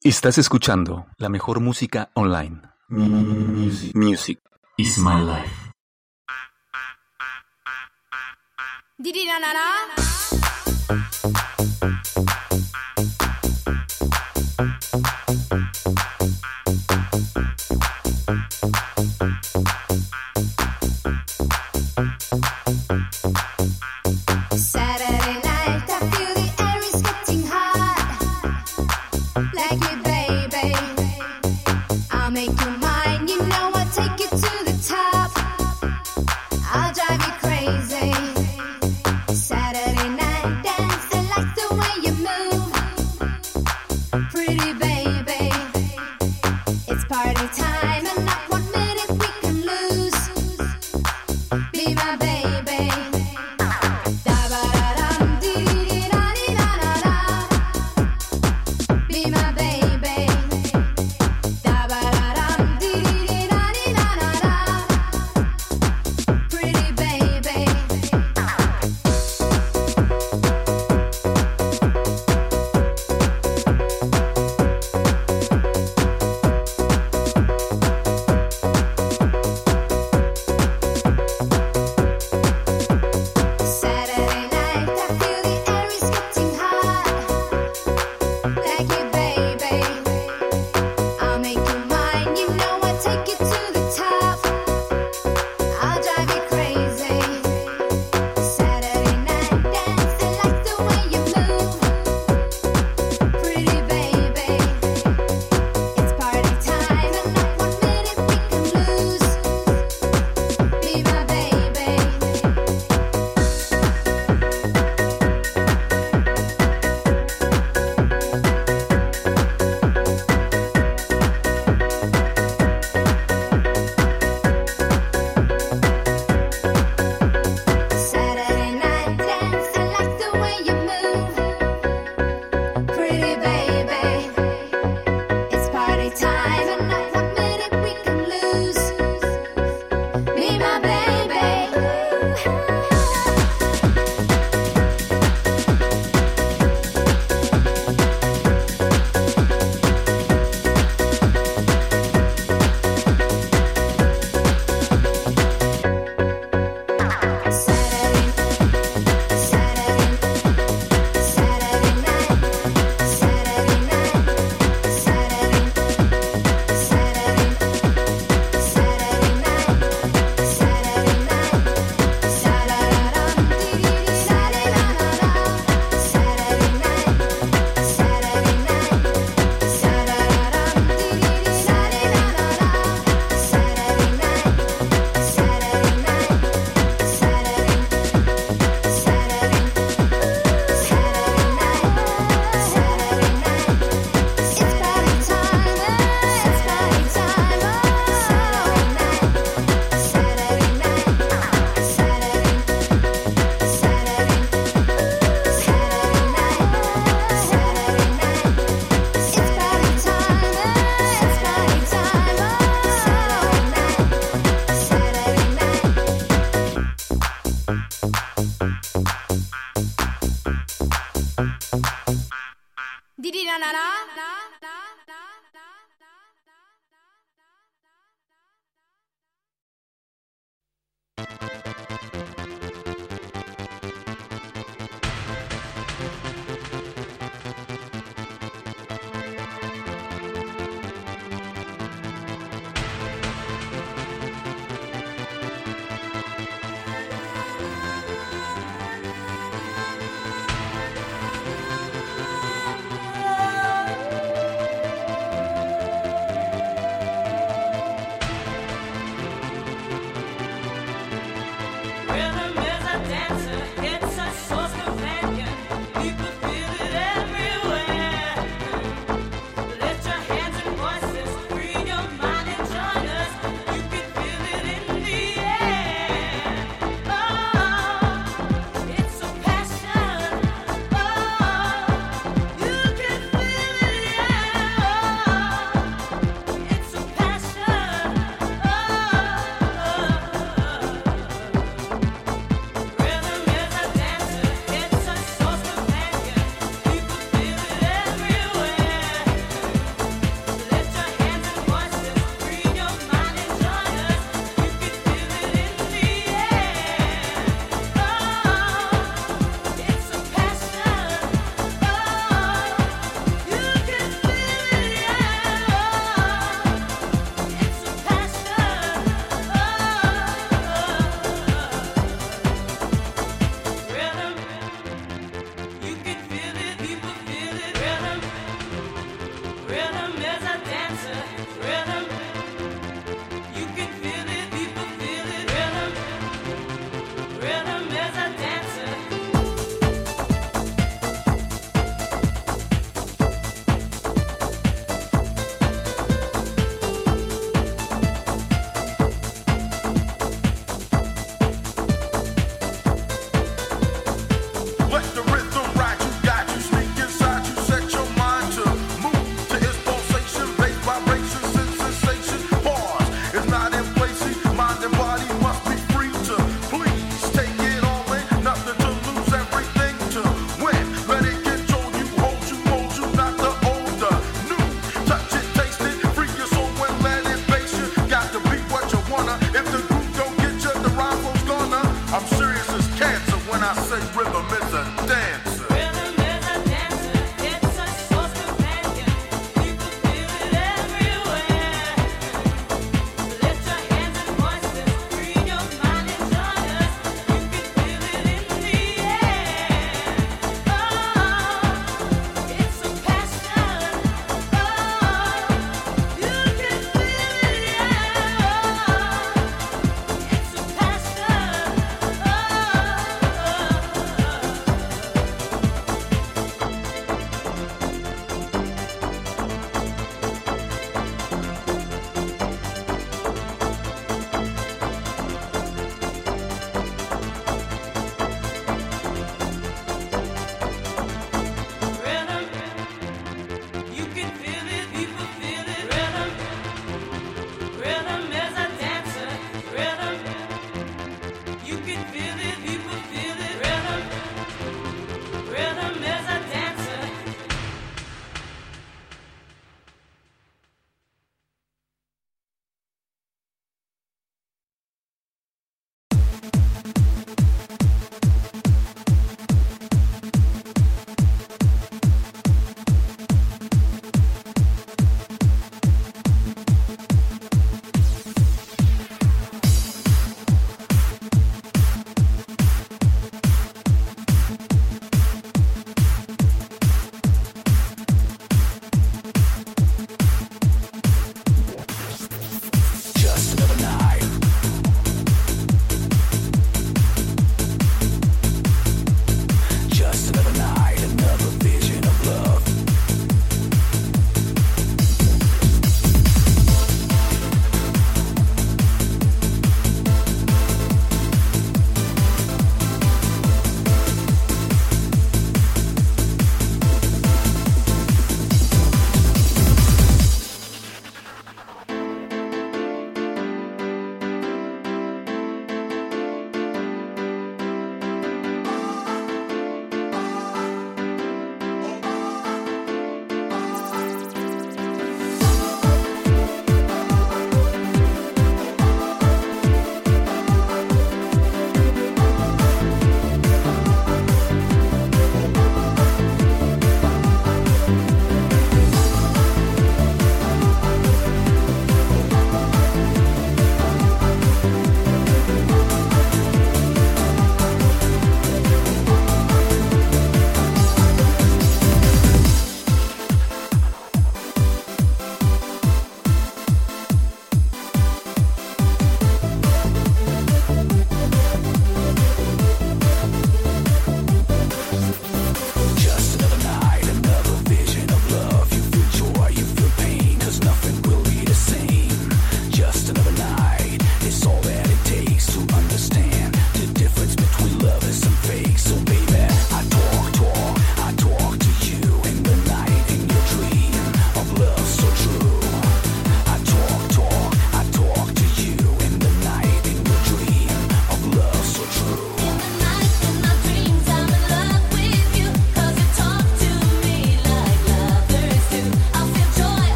Estás escuchando la mejor música online. Music is my life.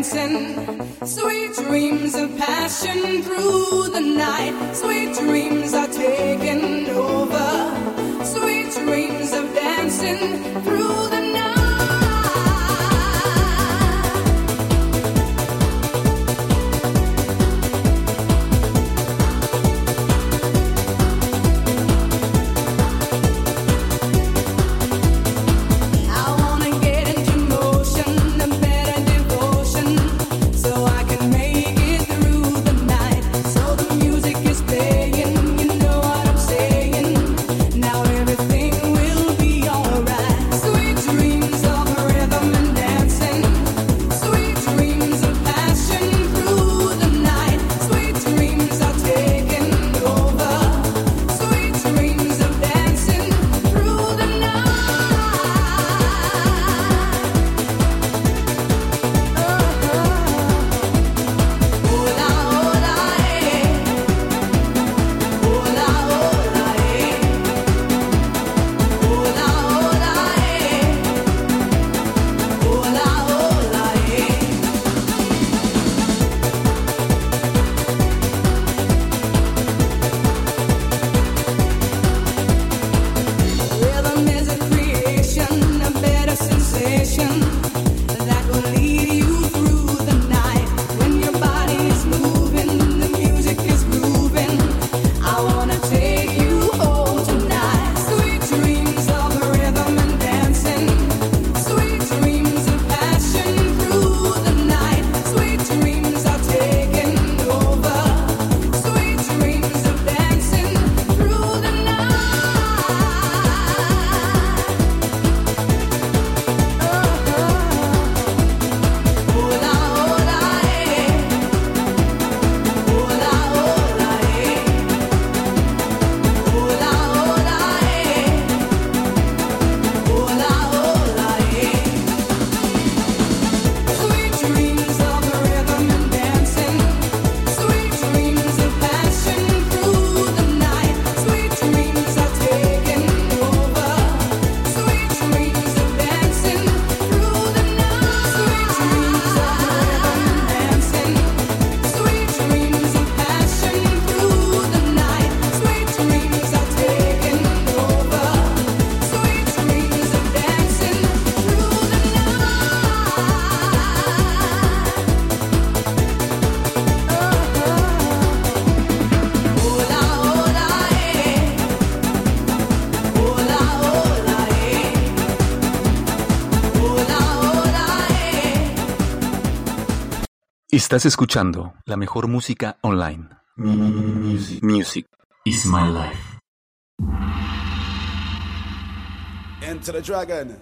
dancing. Sweet dreams of passion through the night. Sweet dreams are taking over. Sweet dreams of dancing through the night. Estás escuchando la mejor música online. Music is my life. Enter the Dragon.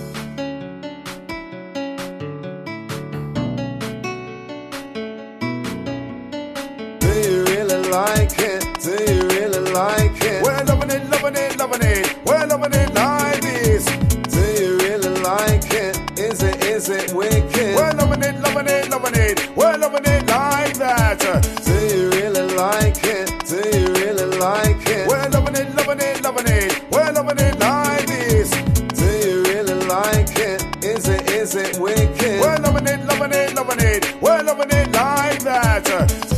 Do you really like it? Do you really like it? We're loving it, loving it, loving it. We're loving it like this. Do you really like it? Is it wicked? We're loving it, loving it, loving it. We're loving it like that. Do you really like it? Do you really like it? We're loving it, loving it, loving it. We're loving it like this. Do you really like it? Is it wicked? We're loving it, loving it, loving it. We're loving it like that.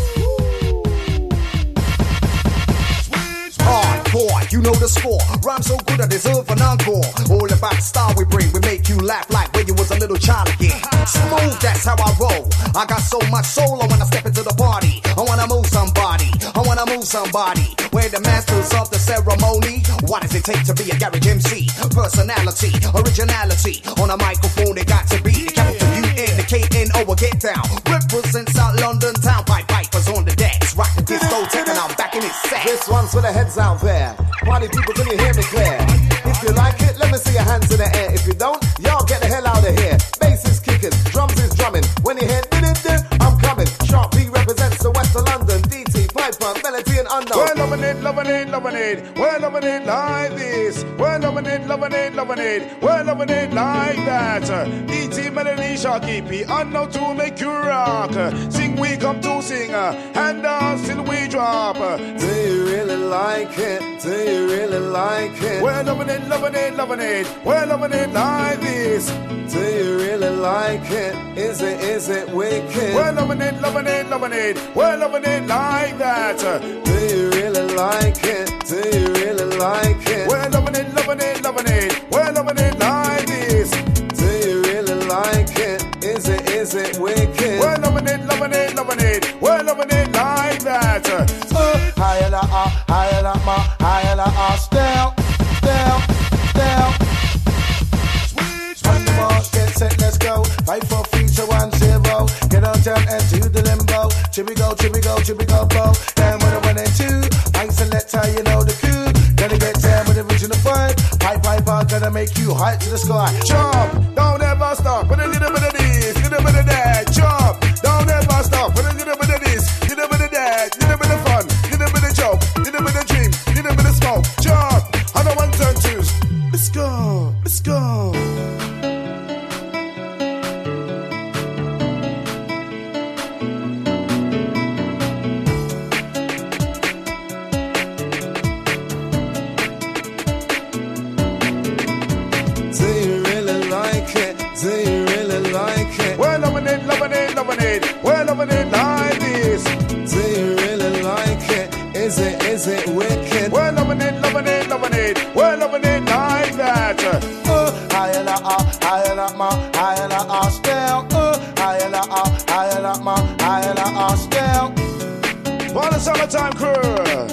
Hardcore, you know the score. Rhyme so good I deserve an encore. All about the style we bring. We make you laugh like when you was a little child again. Smooth, that's how I roll. I got so much soul when I step into the party. I wanna move somebody. I wanna move somebody. We're the masters of the ceremony. What does it take to be a garage MC? Personality, originality. On a microphone it got to be the capital U-N-K-N-O or get down. Represent South London town. Pipe Vipers on the decks. Rock the discotheque and I'm back in his set. This one's for the heads out there. Party people, can you hear me clear? If you like it, let me see your hands in the air. If you don't, y'all get the hell out of here. Bass is kicking, drums is drumming. When you hear I'm coming. Sharp B represents the west of London. DT, Piper, Melody and Unknown. We're loving loving it, loving it, loving it. We're loving it like this. We're loving it, loving it, loving it. We're loving it like that. E.T. Melody Sharky P. Unknown to make you rock. Sing we come to sing. And dance till we drop. Do you really like it? Do you really like it? We're loving it, loving it, loving it. We're loving it like this. Do you really like it? Is it wicked? We're loving it, loving it, loving it. We're loving it like that. Do you really like it? Do you really like it? We're loving it, loving it, loving it. We're loving it like this. Do you really like it? Is it wicked? We're loving it, loving it, loving it. We're loving it like that. Higher la higher la ma, higher la down, down, down. On the mark, get set, let's go. Fight for future 1-0. Get on down and do the limbo. Chippy go, chippy go, chippy go, bo. Down with a 1 and 2. Ain't selector, you know the coup. Gotta get down with the original vibe. Pipe, gonna make you high to the sky. Jump, don't ever stop. With a little bit of this, little bit of that. Jump, don't ever stop. With a little bit of this, little bit of that. Little bit of fun, little bit of joke, little bit of dream, little bit of smoke. Jump, on the 1 turn 2s. Let's go, let's go. Do you really like it? We're loving it, loving it, loving it. We're loving it like this. Do you really like it? Is it wicked? We're loving it, loving it, loving it. We're loving it like that. Higher la ma, higher la down. Higher la ma, higher la down. For the summertime crew.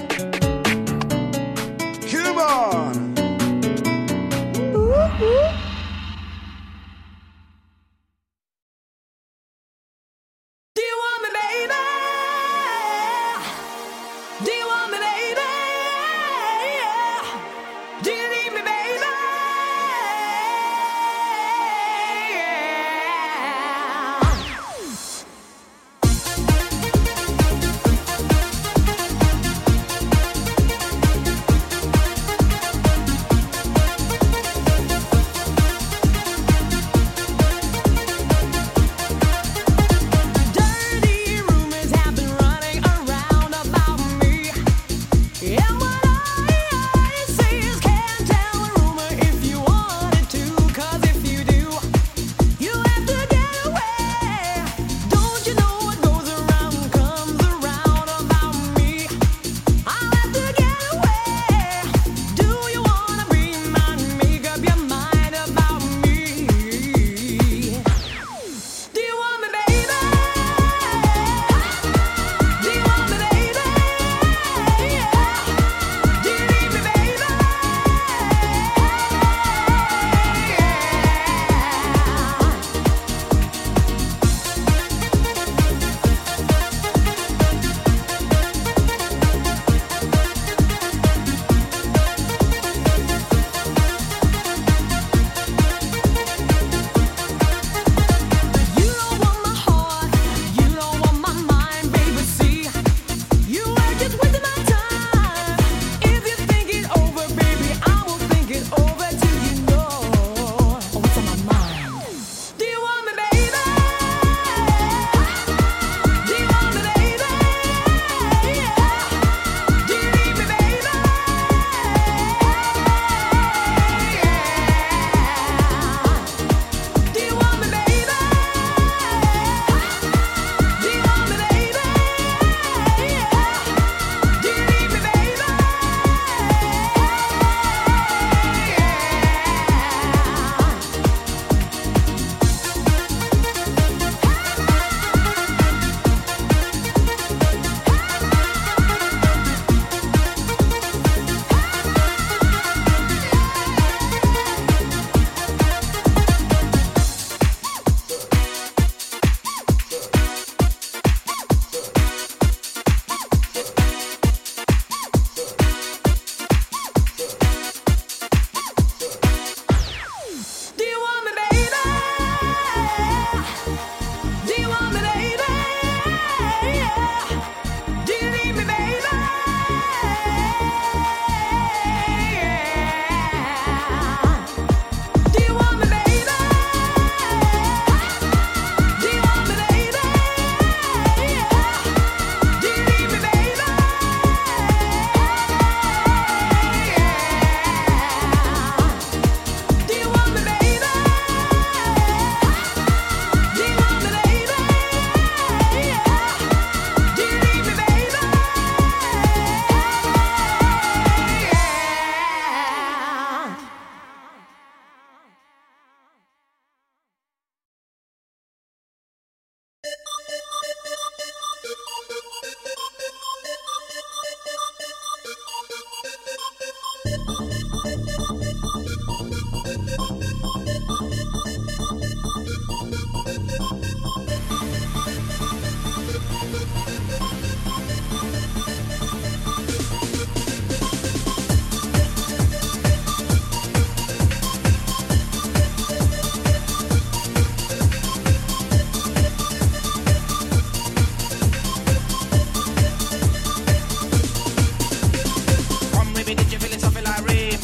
Come on. Dirty rumors have been running around about me.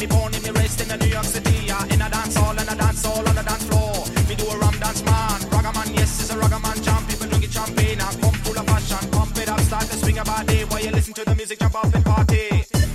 Me born in me raised in the New York City. In a dance hall and a dance hall on the dance floor. Me do a rum dance man. Ragaman, yes, it's a ragaman jam. People drinking champagne and come full of passion. Pump it up, start to swing about day. While you listen to the music, jump up and party.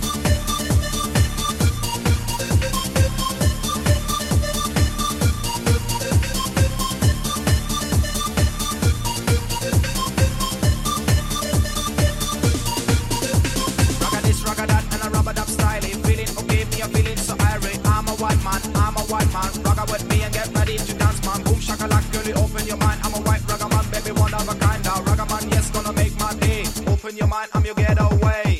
Rock with me and get ready to dance, man. Boom shakalak, girl, you open your mind. I'm a white ragaman, baby, one of a kind. Now ragaman, yes, gonna make my day. Open your mind, I'm your getaway.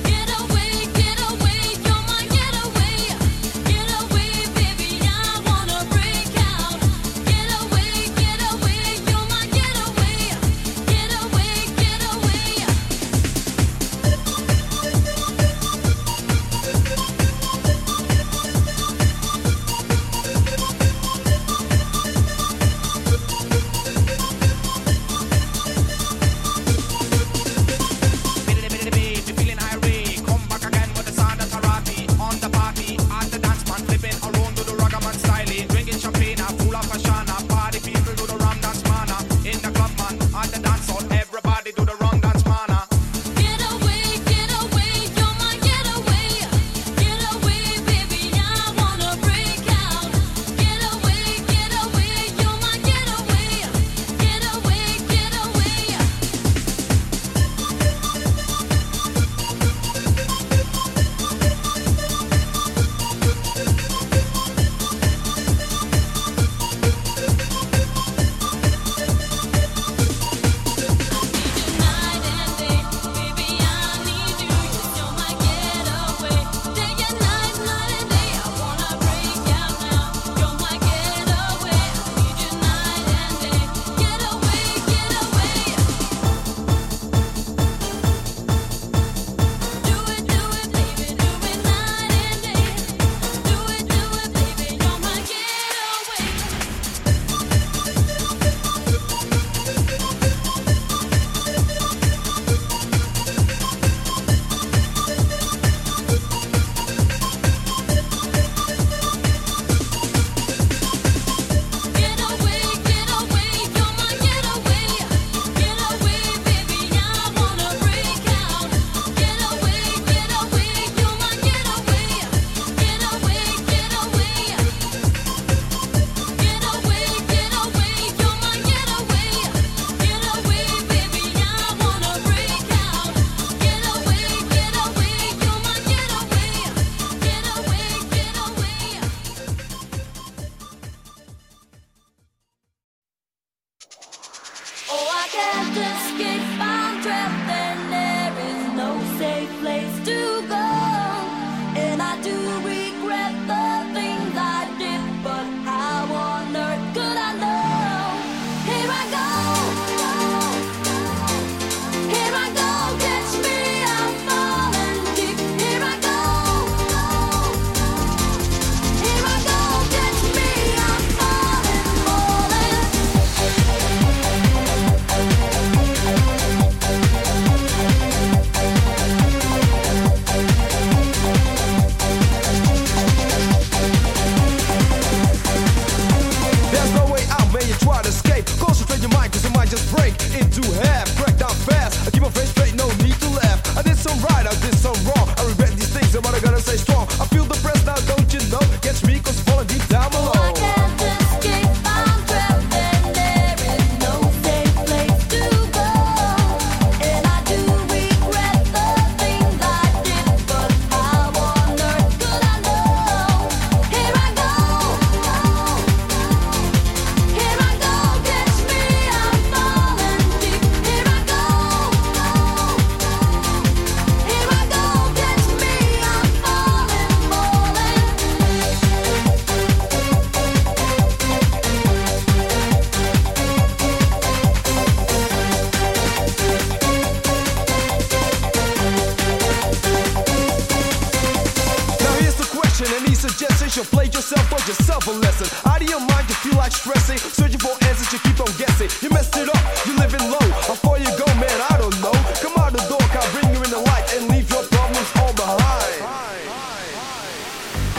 suggestions, you'll play yourself or yourself a lesson. Out of your mind, you feel like stressing, searching for answers, you keep on guessing. You messed it up, you living low. How far you go, man, I don't know. Come out the door, I'll bring you in the light and leave your problems all behind.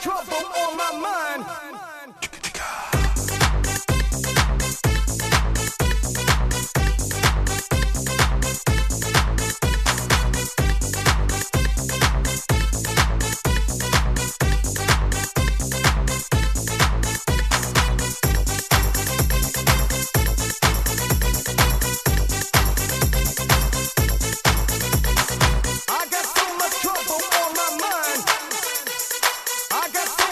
trouble on my mind. I got so much trouble on my mind. I got so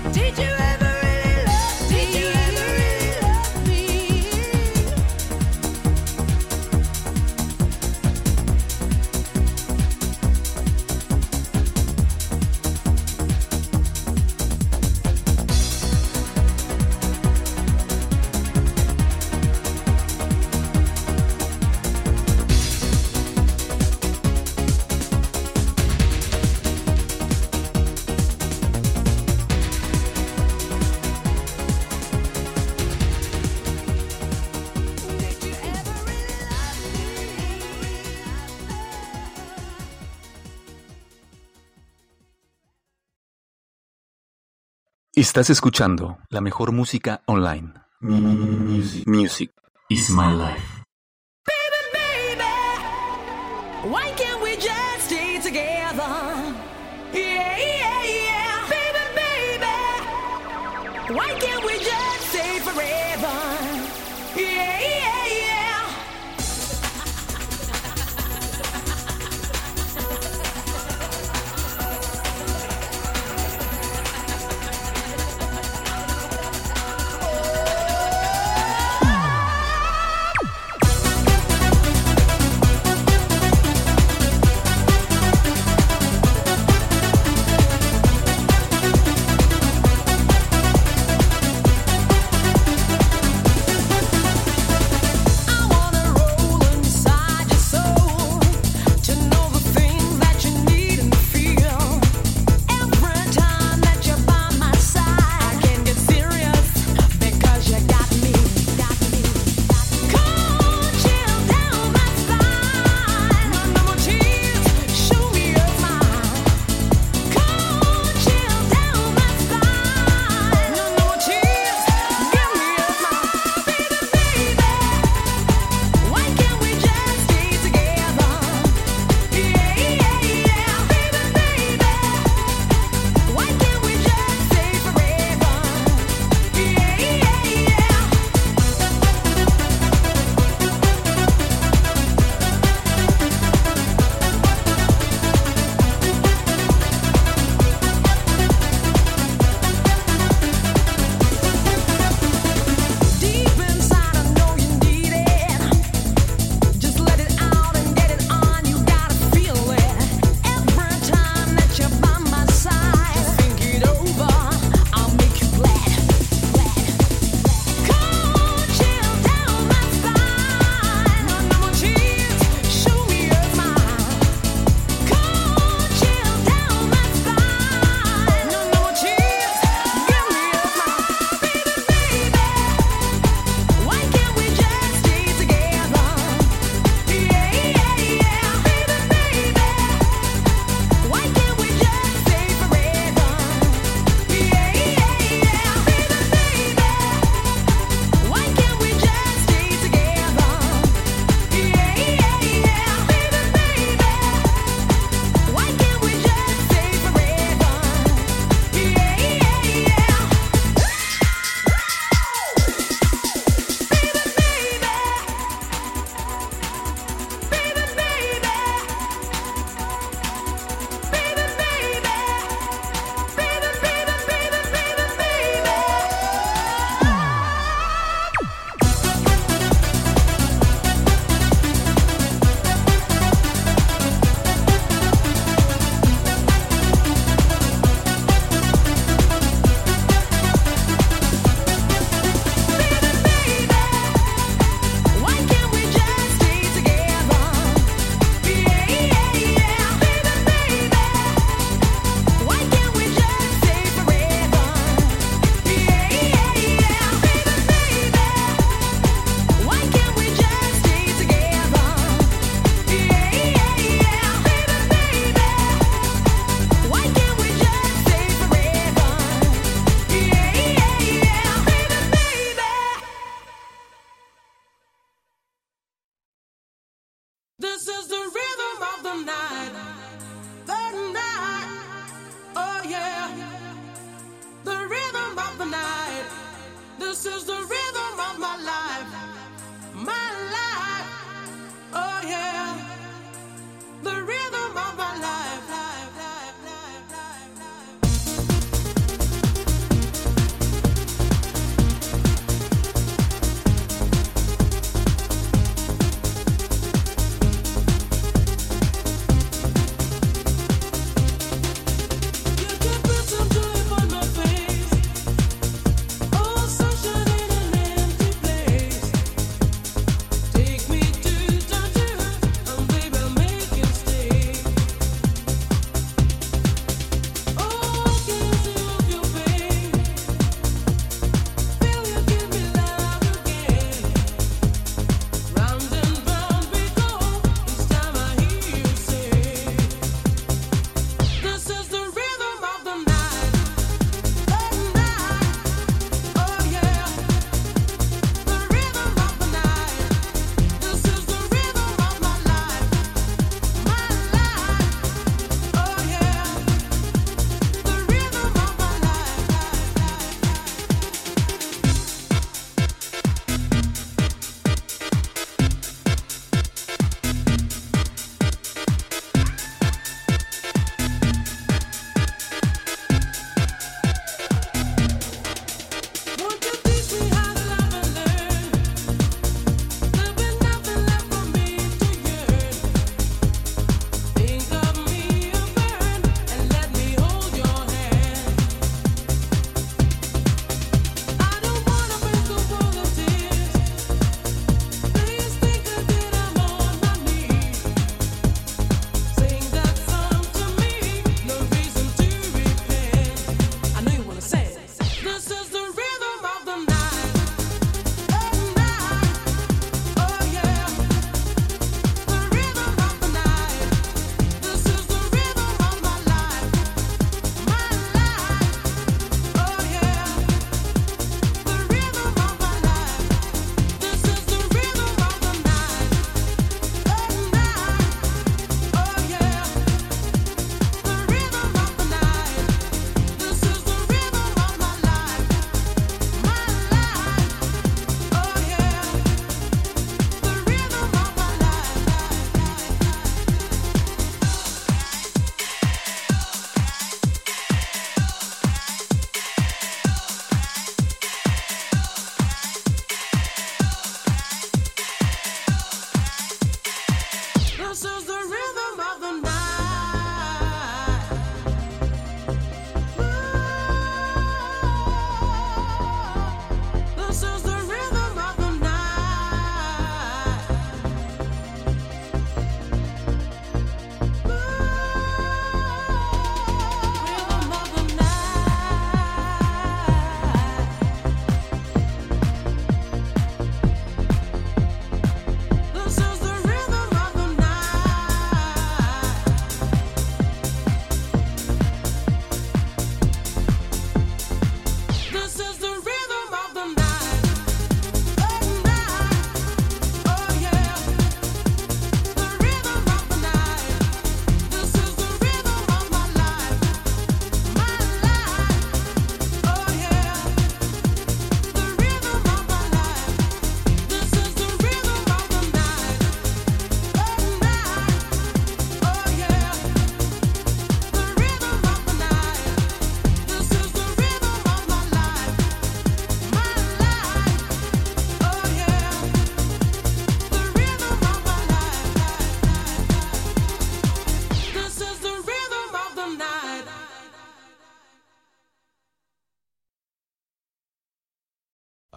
Did you ever really love me? Did you ever really love me? Did you ever really love me? Estás escuchando la mejor música online. Music is my life. Baby, why can't we just stay together? Yeah, yeah, yeah. Baby, why can't we just stay forever? Yeah, yeah, yeah. I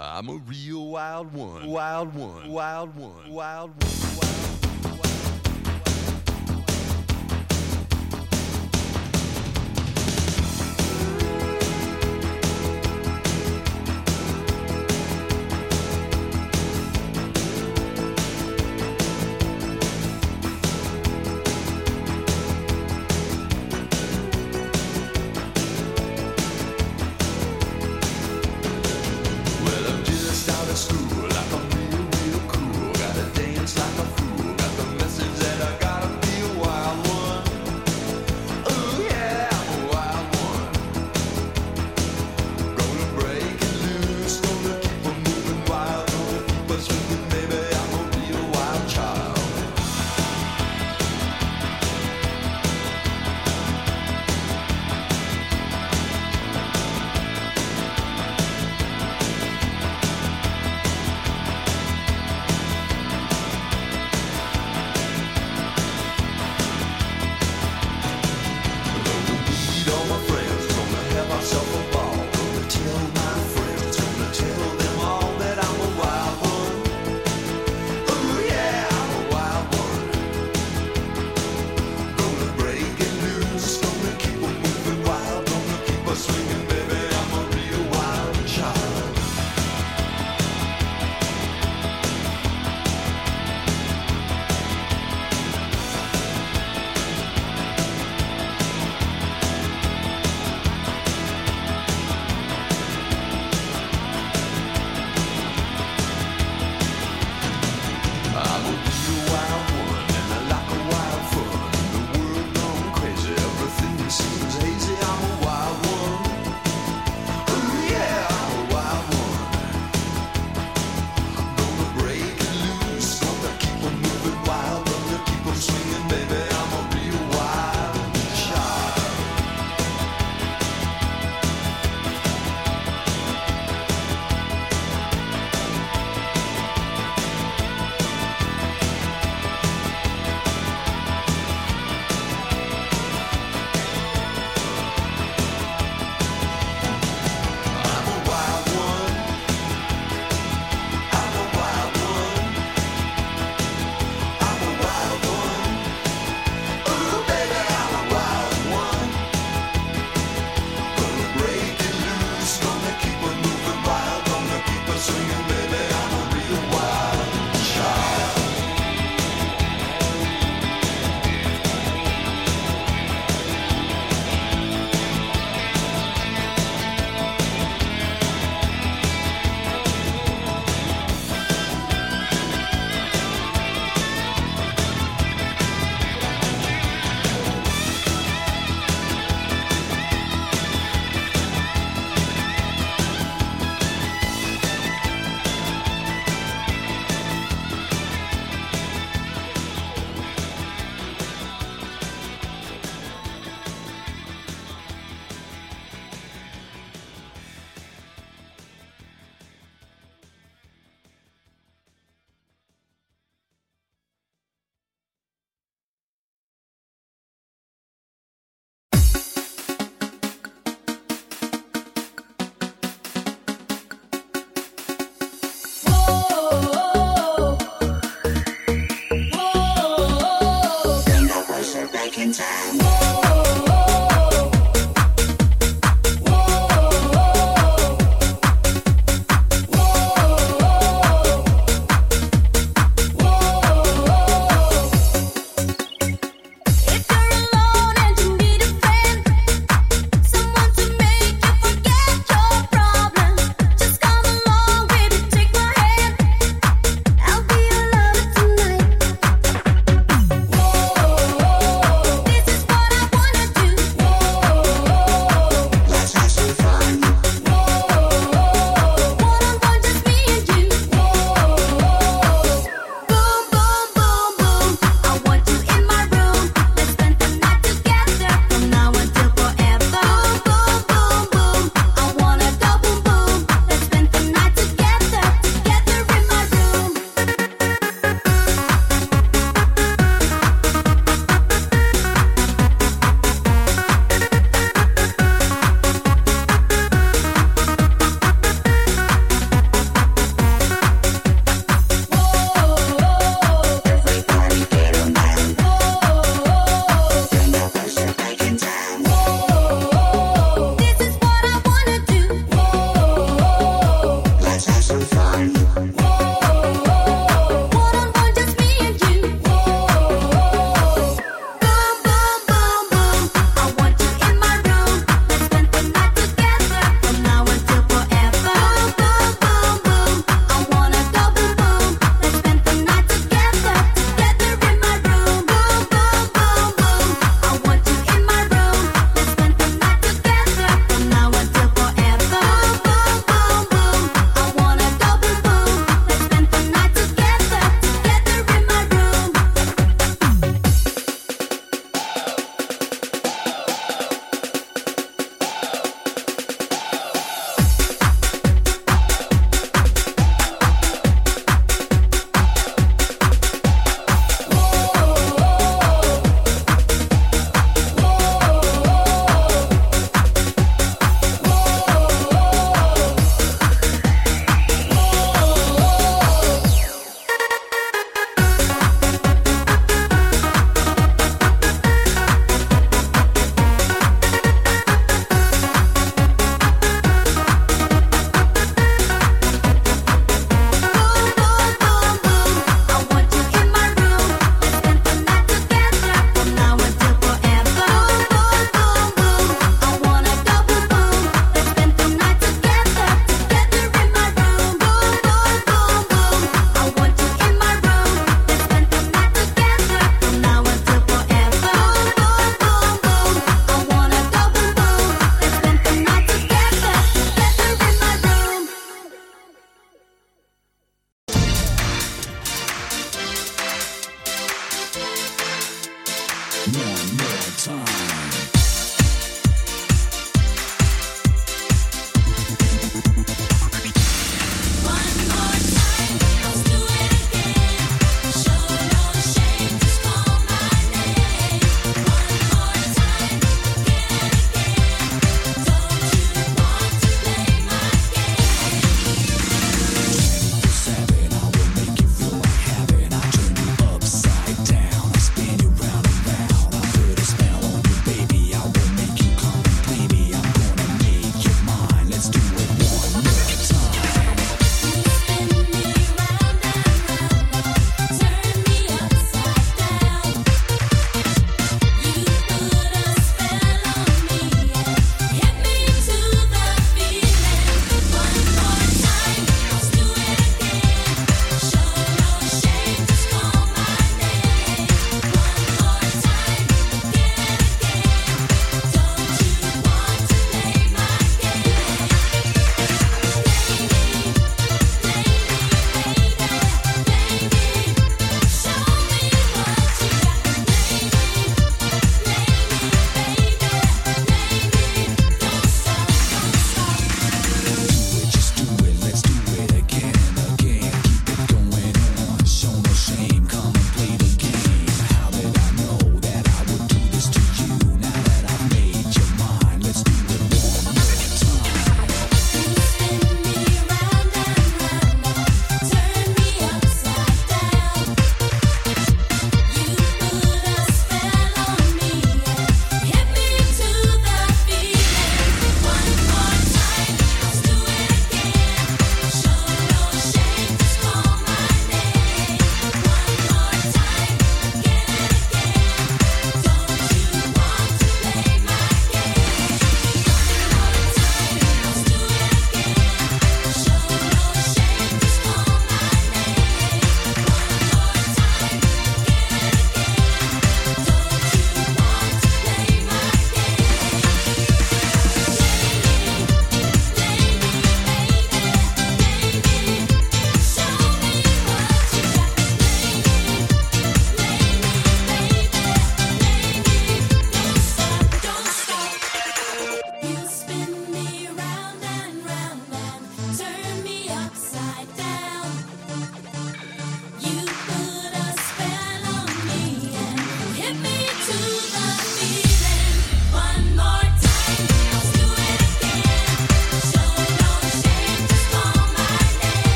I'm a real wild one, wild one, wild one, wild one, wild one. School, like I'm real, real cool. Gotta dance like a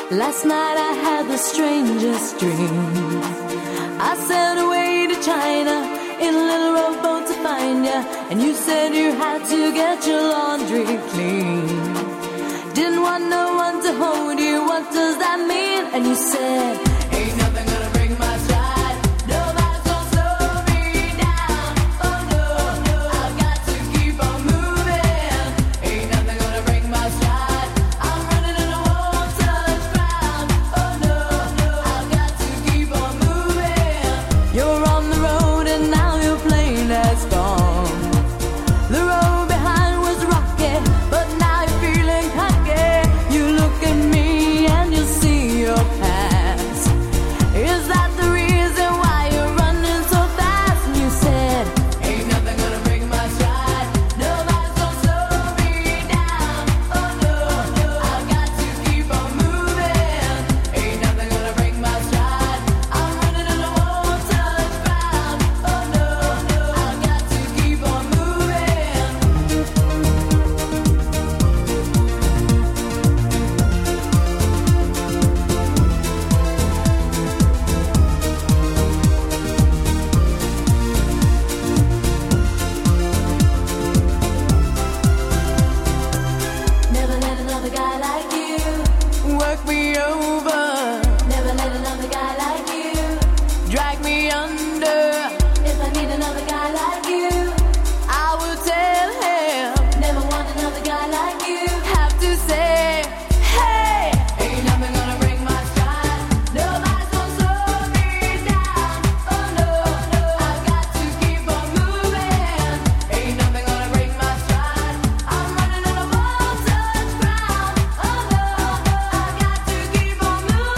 Last night I had the strangest dream. I sailed away to China in a little rowboat to find ya, and you said you had to get your laundry clean. Didn't want no one to hold you, what does that mean? And you said, ain't nothing gonna break my stride. Nobody's gonna slow me down. Oh no, no, I've got to keep on moving. Ain't nothing gonna break my stride. I'm running and I won't touch ground. Oh no, no, I've got to keep on moving. You're on the road and now your plane has gone. The road behind was rocky, but now you're feeling cocky. You look at me and you see your past. Is that the reason why you're running so fast? And you said, ain't nothing gonna break my stride. Nobody's gonna slow me down. Oh no, no, I've got to keep on moving. Ain't nothing gonna break my stride. I'm running and I won't touch ground. Oh no, no, I've got to keep on moving. Never let another guy like you work me over. Never let another guy like you drag me under. If I need another guy like you, I will tell him. Never want another guy like you. Have to say, hey, ain't nothing gonna break my stride. Nobody's gonna slow me down. Oh no, no, I've got to keep on moving. Ain't nothing gonna break my stride. I'm running and I won't touch ground. Oh no, no, I've got to keep on moving.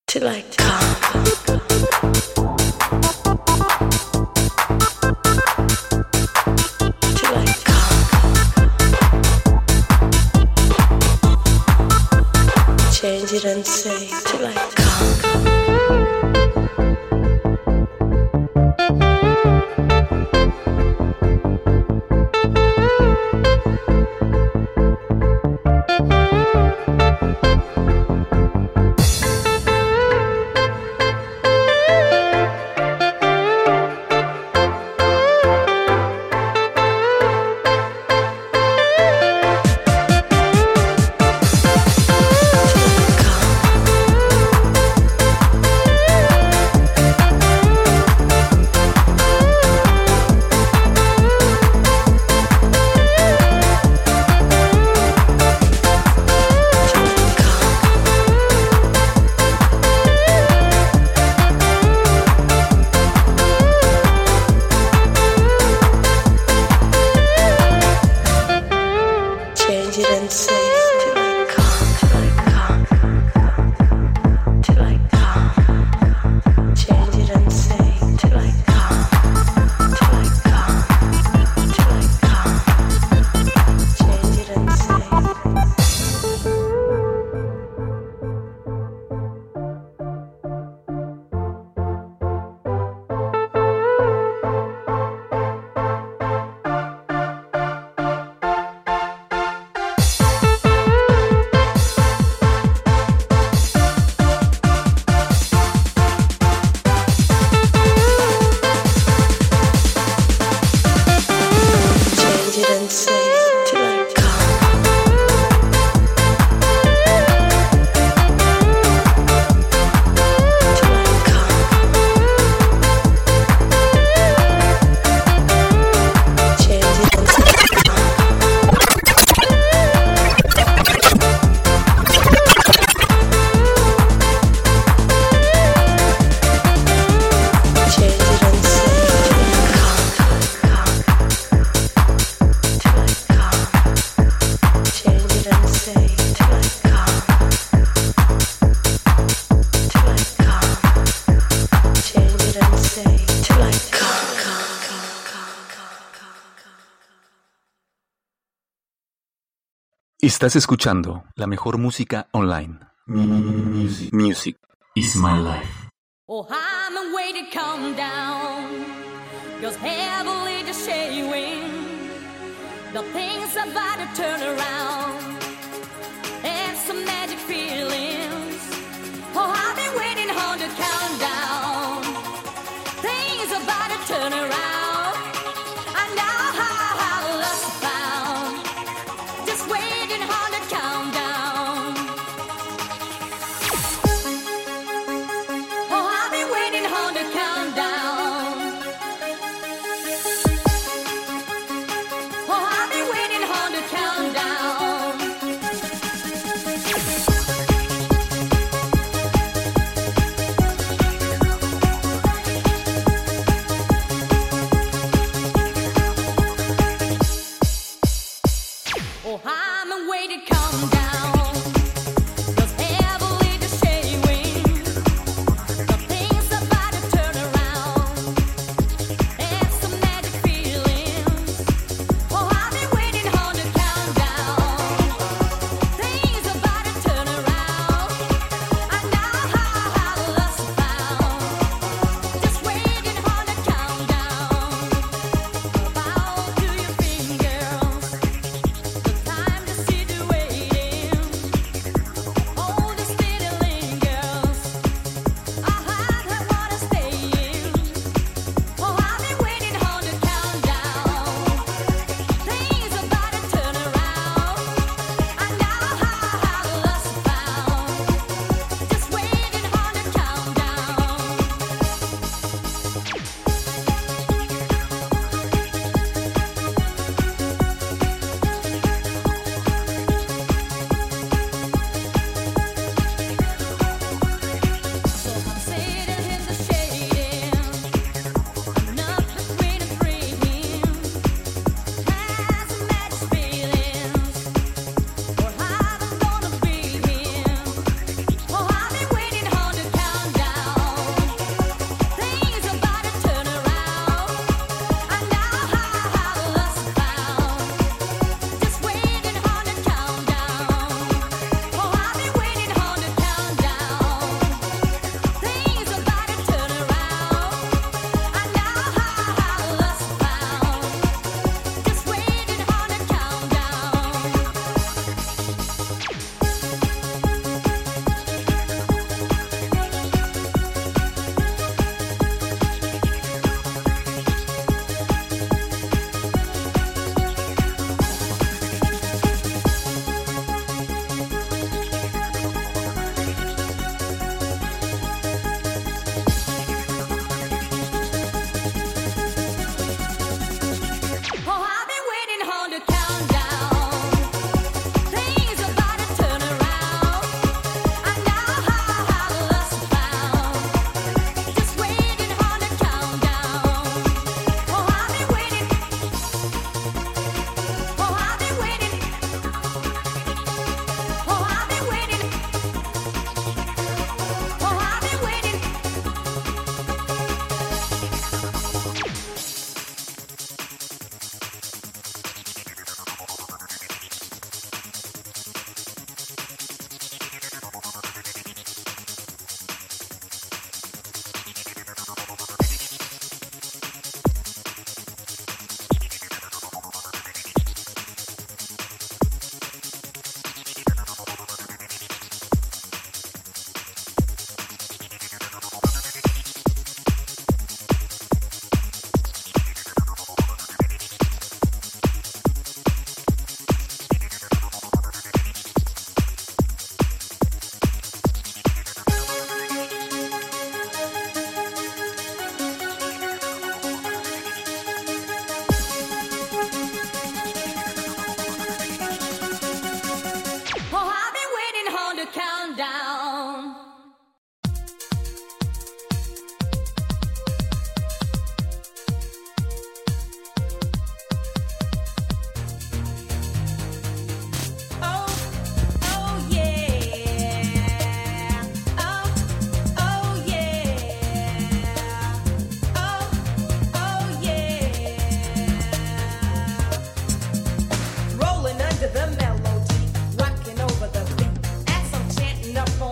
till I come. Till I come. Change it and say till I come. Estás escuchando la mejor música online. Music is my life. Oh, I'm way to calm down, 'cause heavily just shading. The things about to turn around, and some magic feelings. Oh, I've been waiting on the countdown. Things about to turn around. I know how lost I found. Just waiting on the countdown. Oh, I've been waiting on the countdown. Oh, I've been waiting on the countdown. Oh, I'm waiting to calm down, 'cause heavily just shading. The things about to turn around, and some magic feelings. Oh, I've been waiting on the countdown. Things about to turn around. I know how lost I found. Just waiting on the countdown. Bow to your fingers. The time to see the waiting. down. Rolling under the melody, rocking over the beat. As I'm chanting up on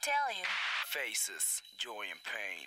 tell you. Faces, joy and pain.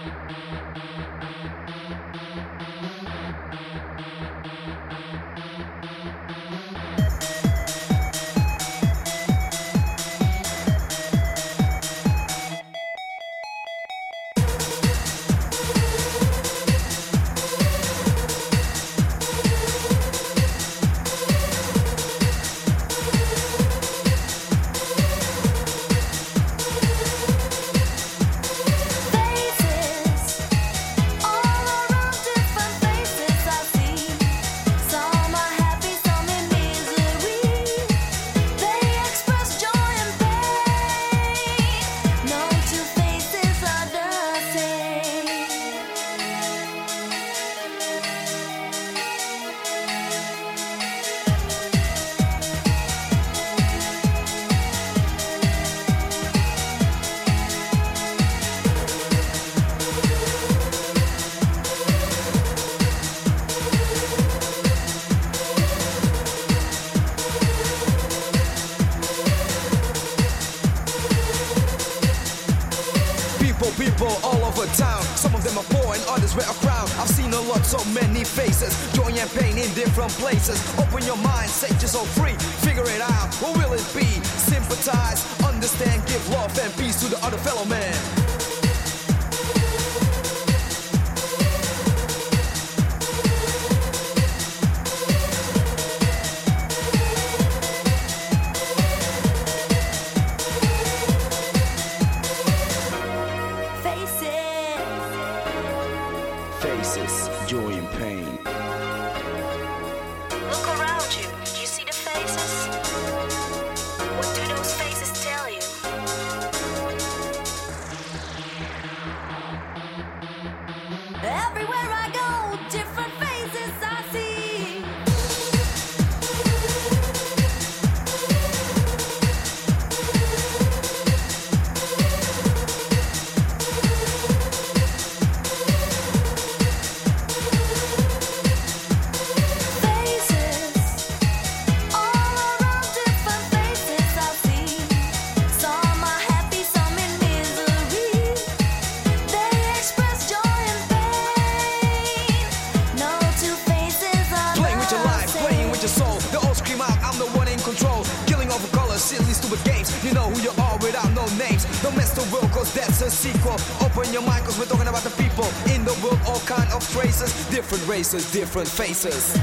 People all over town, some of them are poor and others wear a crown. I've seen a lot, so many faces, joy and pain in different places. Open your mind, set yourself free, figure it out, what will it be? Sympathize, understand, give love and peace to the other fellow man. Faces, joy and pain. Look around you. Do you see the faces? What do those faces tell you? Everywhere I go, different faces I see. Silly stupid games, you know who you are without no names. Don't mess the world cause that's a sequel. Open your mind cause we're talking about the people in the world, all kind of traces, different races, different faces.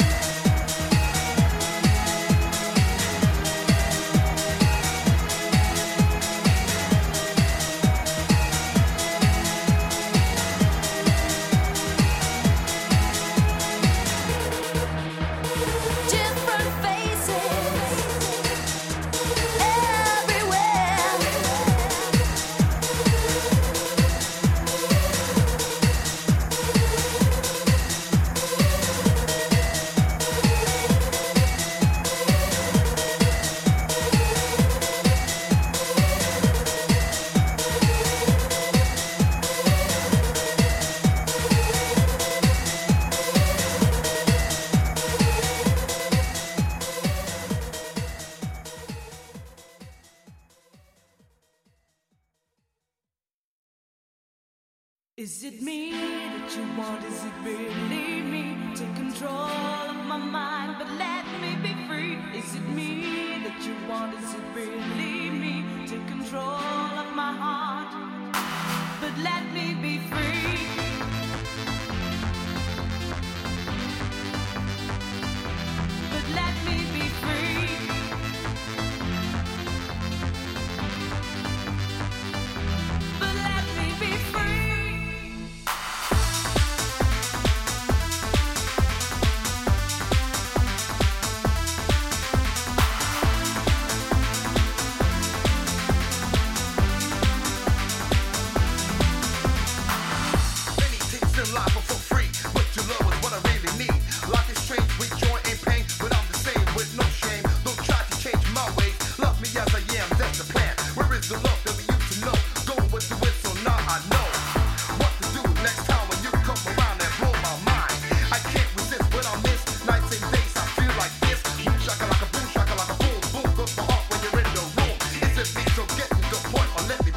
Is it me that you want? Is it really me? Take control of my mind, but let me be free. Is it me that you want? Is it really me? Take control of my heart, but let me be free. But let me be free. But let me be free. Let me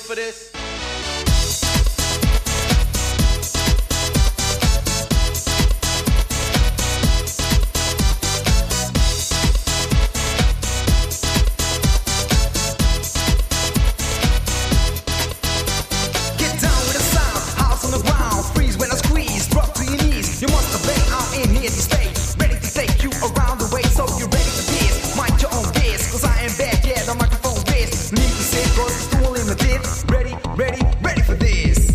for this? Ready for this.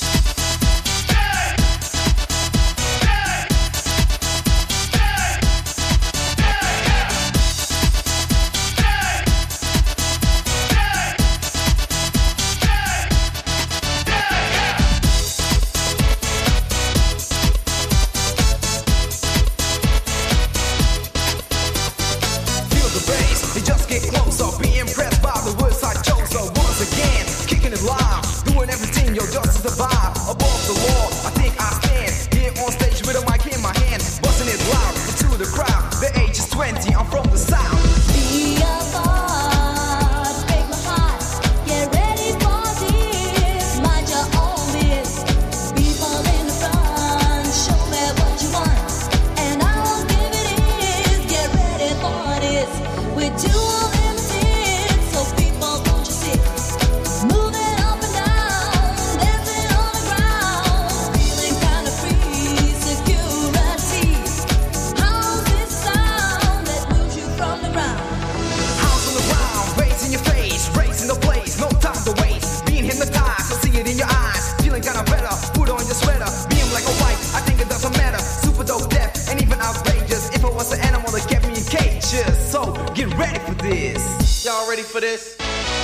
Feel the bass, you just get closer. Be impressed by the words I chose. So once again, kicking it live. Doing everything, yo, just to survive. Above the law, I think I stand here on stage with a mic in my hand, busting it loud into the crowd. The age is 20, I'm from the south. Be a part, break my heart. Get ready for this. Mind your own biz. People in the front, show me what you want, and I will give it is. Get ready for this. We're too limited, so people don't you sit. Moving up and down, dancing on the ground, feeling kind of free. Security. How's this sound that moves you from the ground? House on the ground, raising your face, raising the place, no time to waste. Being hypnotized, I see it in your eyes. Feeling kinda better, put on your sweater. Being black or white, I think it doesn't matter. Super dope, deaf, and even outrageous. If I was an animal that kept me in cages, so get ready for this. Y'all ready for this?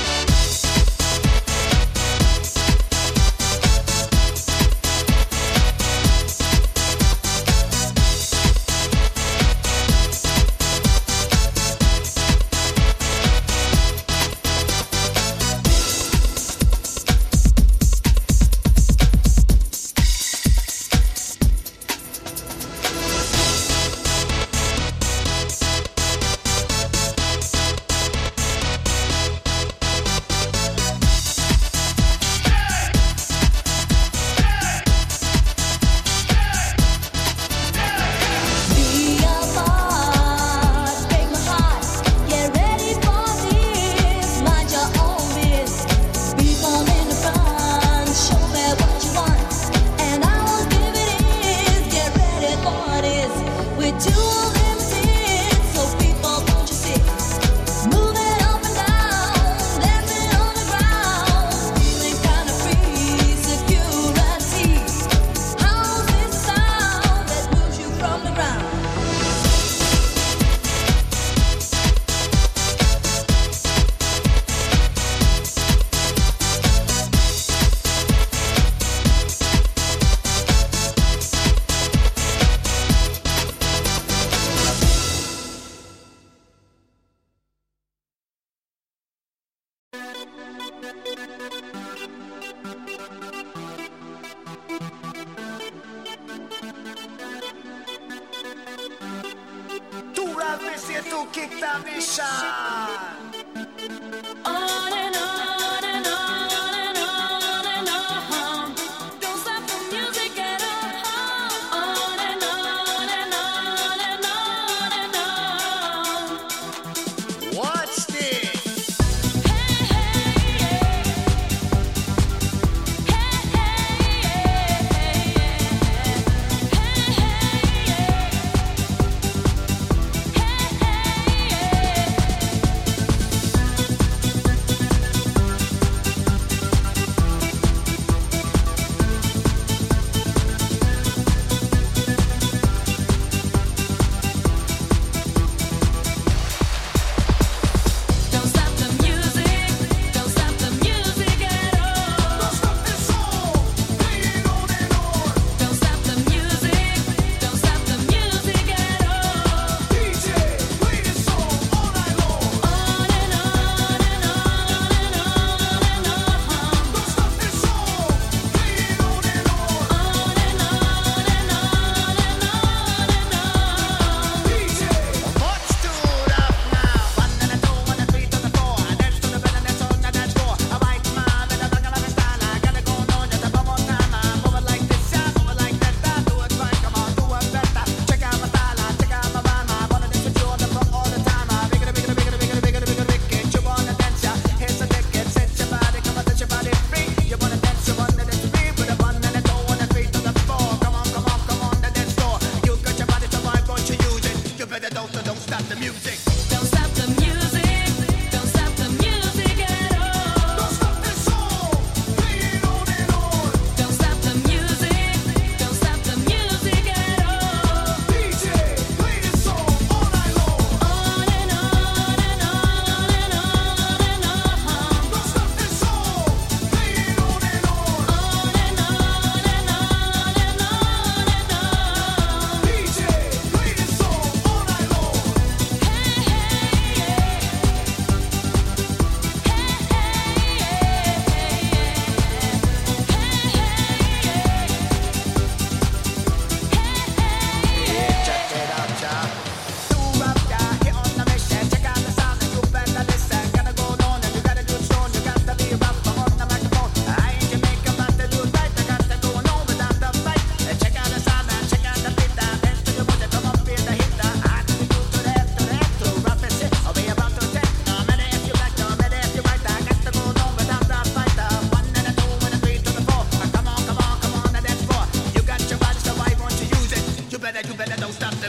Be a part, break my heart. Get ready for this. Mind your own biz. People in the front, show me what you want, and I will give it is. Get ready for this. We're too limited, so people don't you sit. Moving up and down, dancing on the ground, feeling kind of free. Security. How's this sound that moves you from the ground? Tu rap se tu kick that nation. On and on and on and on and on. Don't stop the music at all. On and on and on and on and on. Watch this. Hey, hey, yeah. Hey, hey, yeah. Hey, hey, yeah.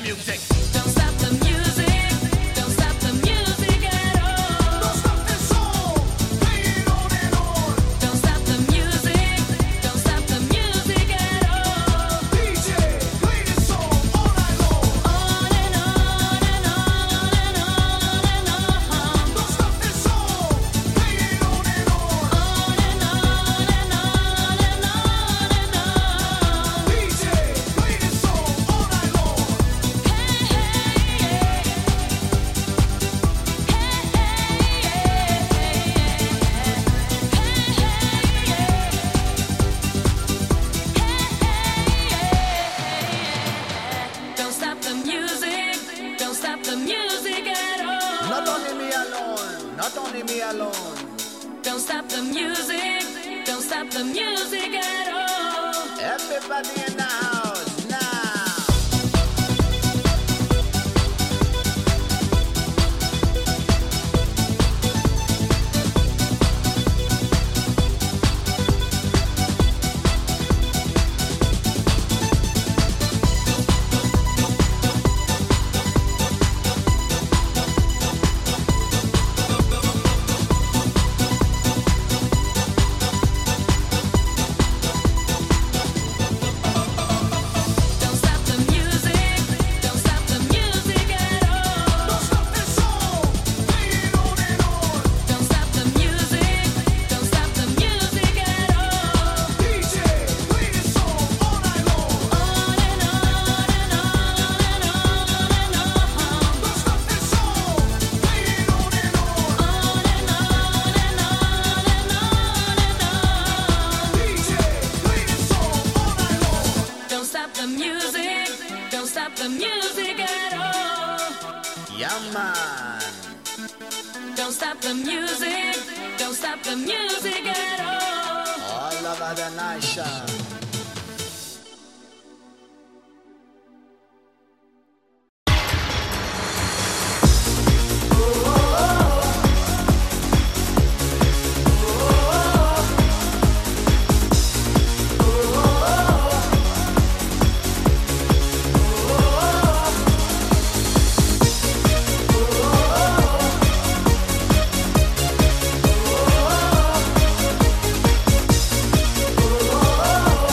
music. Don't stop the music. Don't stop the music at all. Don't stop the song, play it on and on. Don't stop the music. Don't stop the music at all. DJ, play this song all night long. On and on and on and on and on. Don't stop the song, play it on and on. On and on and on and on and on. DJ, play this song all night long. Don't stop the music. Don't stop the music at all. Not only me alone, not only me alone. Don't stop the music. Don't stop the music at all. Everybody in the house now. Don't stop the music. Don't stop the music at all. Don't stop the song, play it on and on. Don't stop the music. Don't stop the music at all. DJ, play this song all night long. On and on and on and on and on. Don't stop the song, play it on and on. On and on and on and on and on. DJ, play this song all night long. Don't stop the music. Don't stop the music at all. Yeah, man. Don't stop the music. Don't stop the music at all. All over the nation. Oh,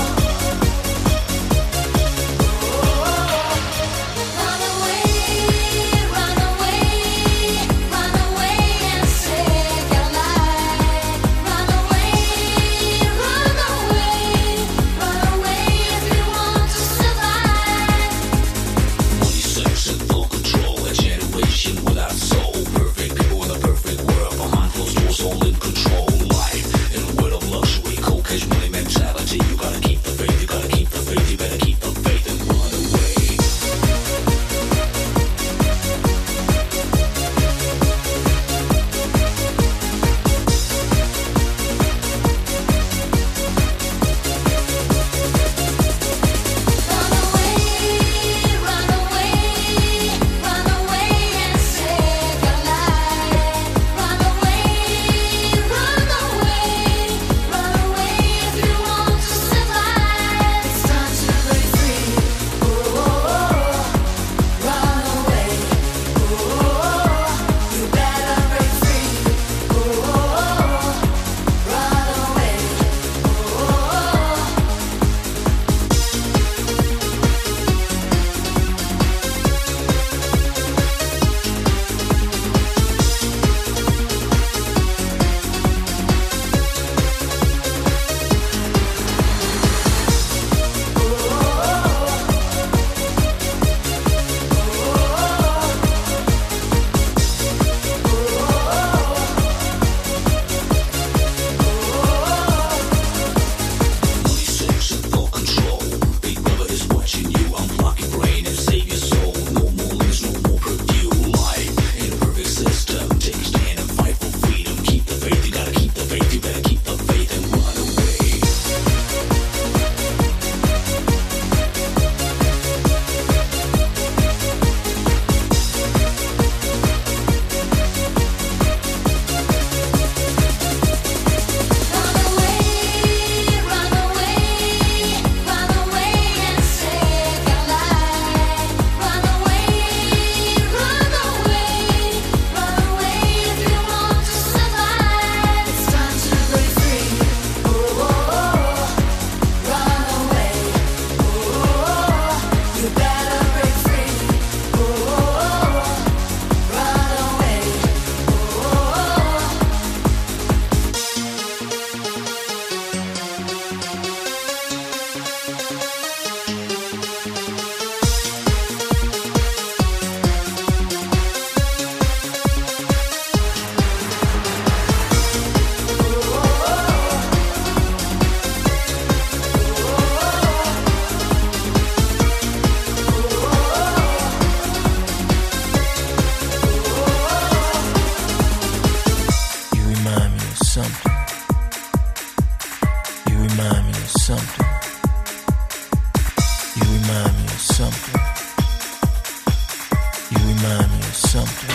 something. You remind me of something.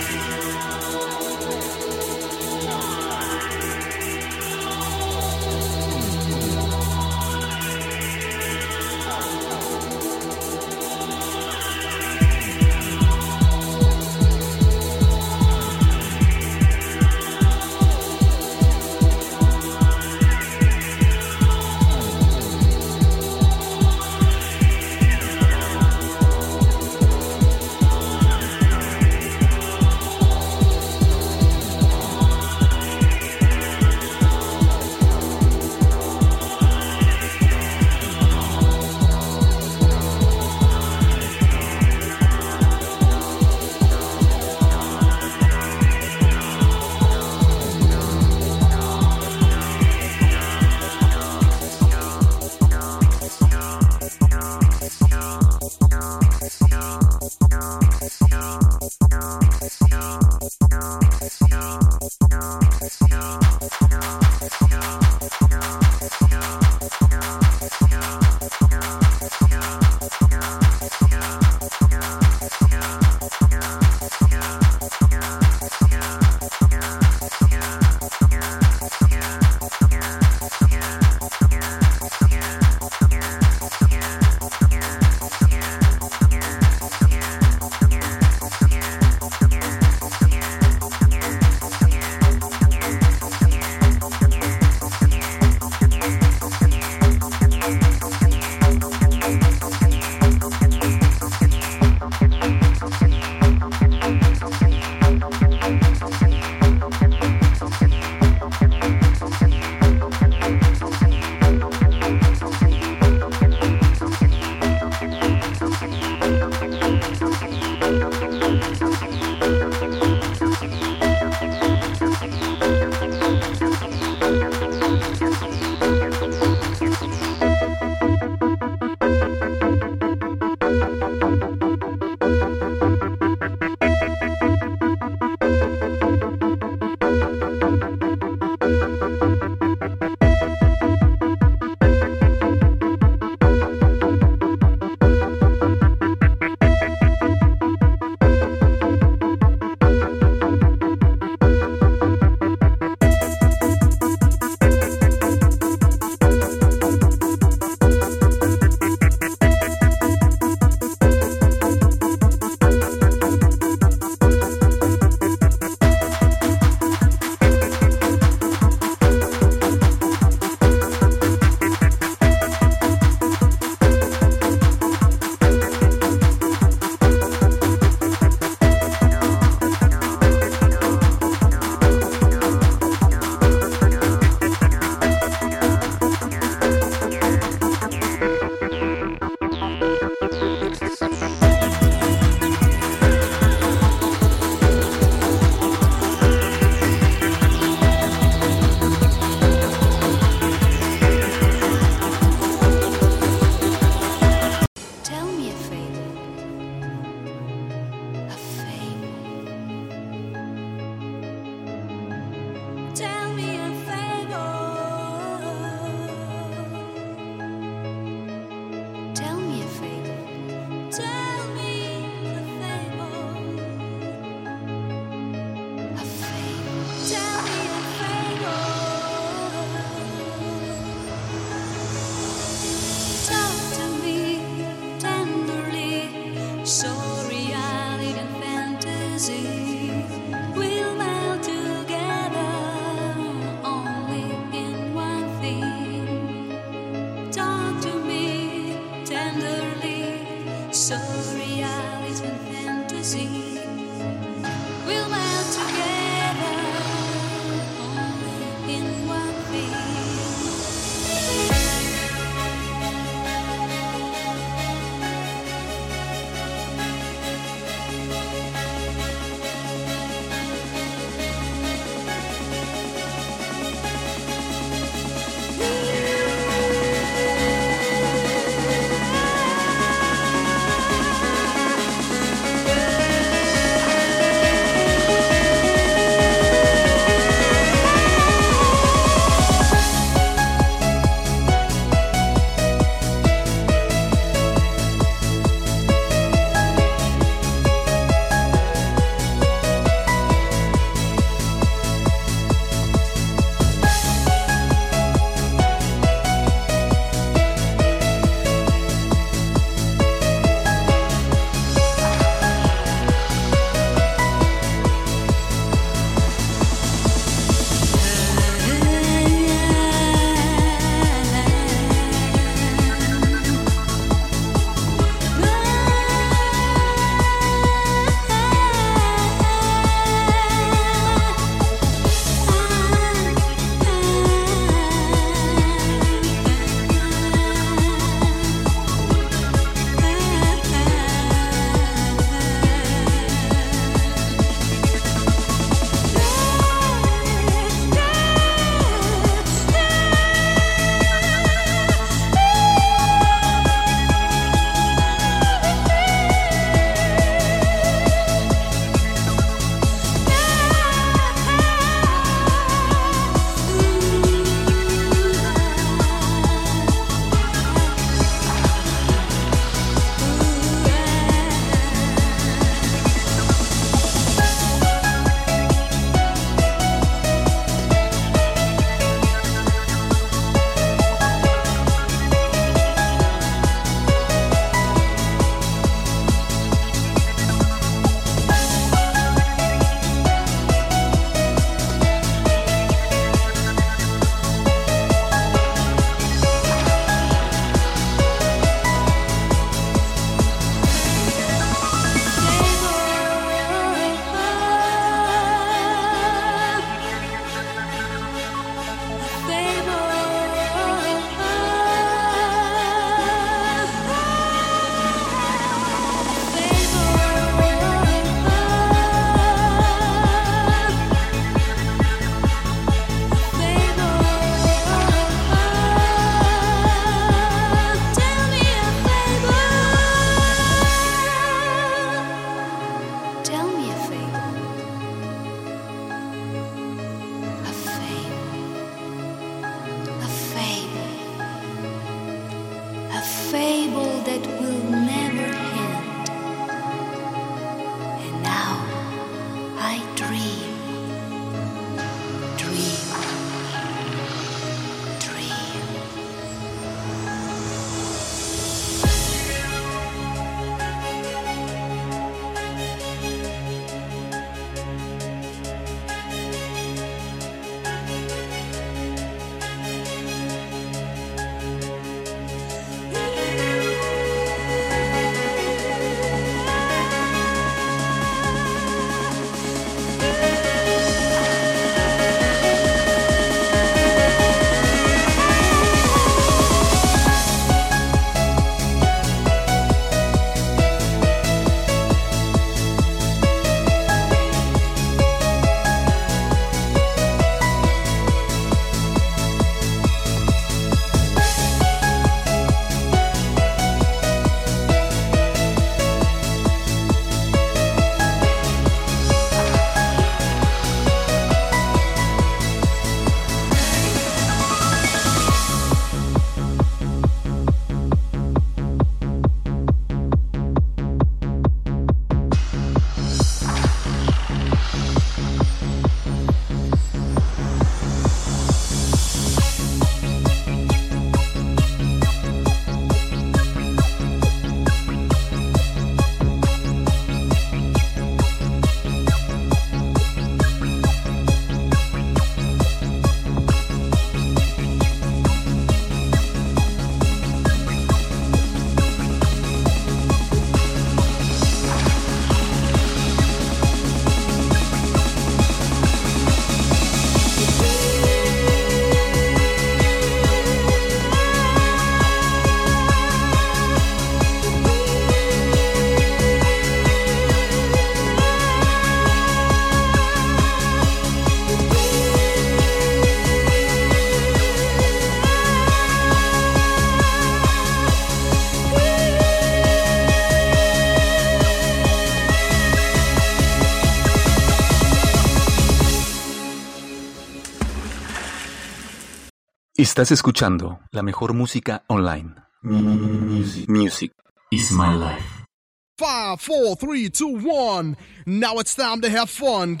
Estás escuchando la mejor música online. Music is my life. 5, 4, 3, 2, 1. Now it's time to have fun.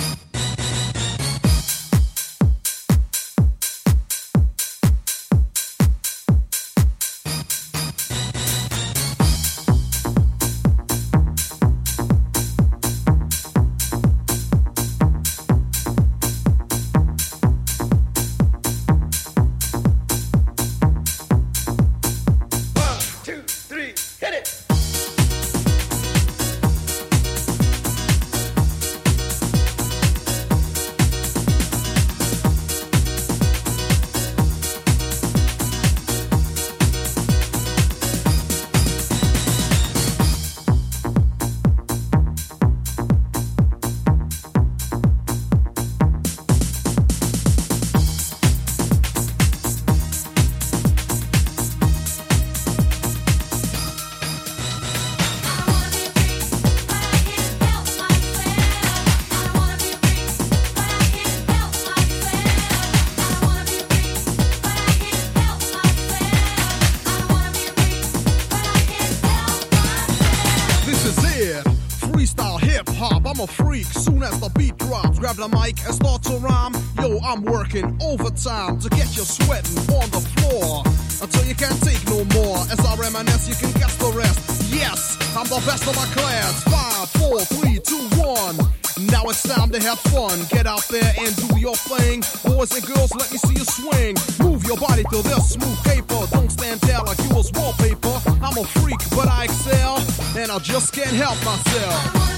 I'm a freak, soon as the beat drops, grab the mic and start to rhyme. Yo, I'm working overtime to get you sweating on the floor until you can't take no more. As I reminisce, you can guess the rest. Yes, I'm the best of my class. 5, 4, 3, 2, 1. Now it's time to have fun. Get out there and do your thing. Boys and girls, let me see you swing. Move your body to this smooth paper. Don't stand there like you was wallpaper. I'm a freak, but I excel, and I just can't help myself.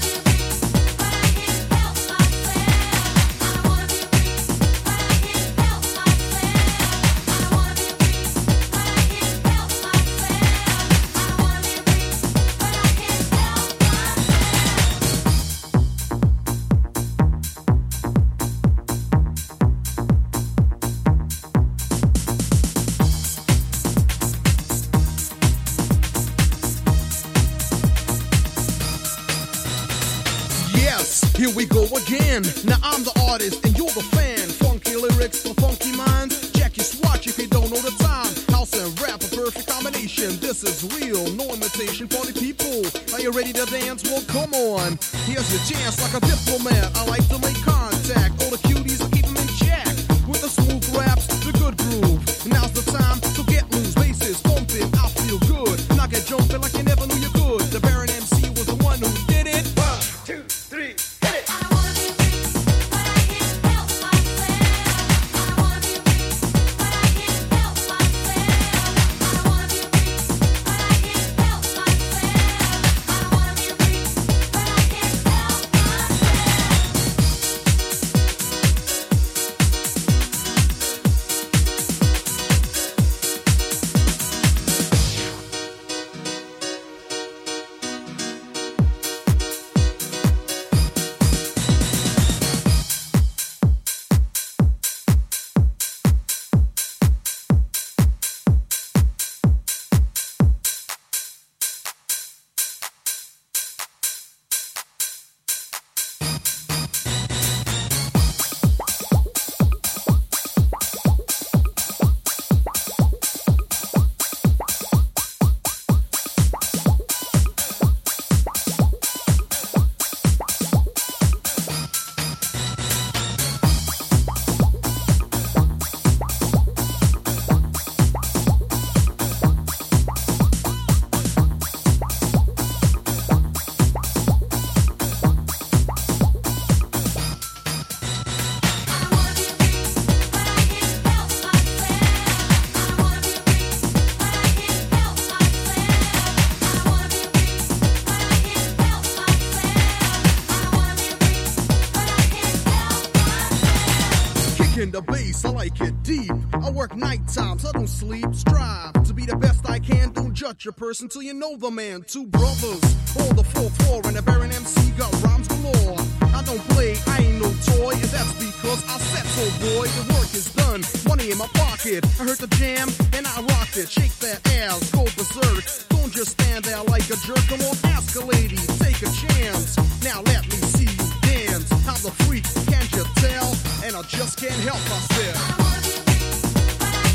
Here we go again. Now I'm the artist and you're the fan. Funky lyrics for funky minds. Check your swatch if you don't know the time. House and rap, a perfect combination. This is real, no imitation. Party people, are you ready to dance? Well, come on. Here's your chance like a diplomat. I like to make contact. All the cuties, I keep them in check. With the smooth raps, the good groove. Now's the time to get loose. Bases pumping, I feel good. Knock it jumping like you never knew you could. The Baron MC was the one who did it. 1, 2, 3. The bass, I like it deep. I work night times, I don't sleep. Strive to be the best I can. Don't judge a person till you know the man. Two brothers on the 4th floor, and the Baron MC got rhymes galore. I don't play, I ain't no toy, and that's because I said so, boy. The work is done, money in my pocket. I heard the jam, and I rocked it. Shake that ass, go berserk. Don't just stand there like a jerk. Come on, ask a lady, take a chance. Now let me see you dance. I'm the freak, can't you tell? And I just can't help myself.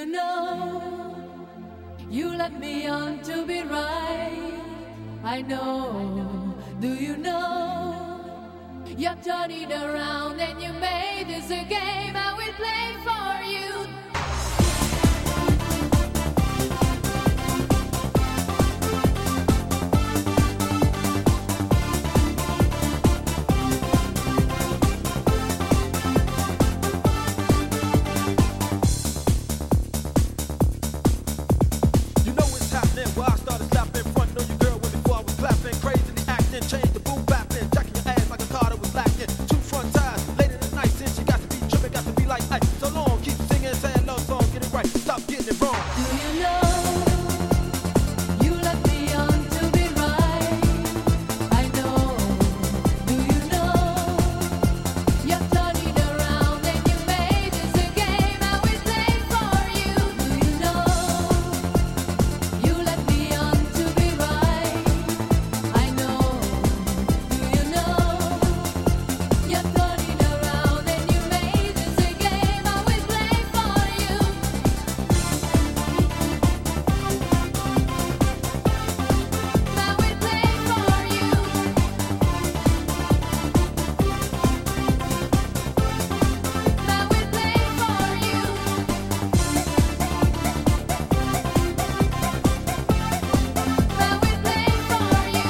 you know you led me on to be right? I know. Do you know you're turning around and you made this a game I will play for you? Change the boom bapping, jacking your ass like a car that was lacking. Two front tires, late in the night, since you got to be tripping, got to be like ice. So long, keep singing, saying love song, get it right, stop getting it wrong. Do you know you led me on to be right? I know. Do you know you're turning around and you made this a game I will play for you? Do you know you led me on to be right? I know. Do you know you're turning around and you made this a game I will play for you? I will play for you. I will play for you. I will play for you.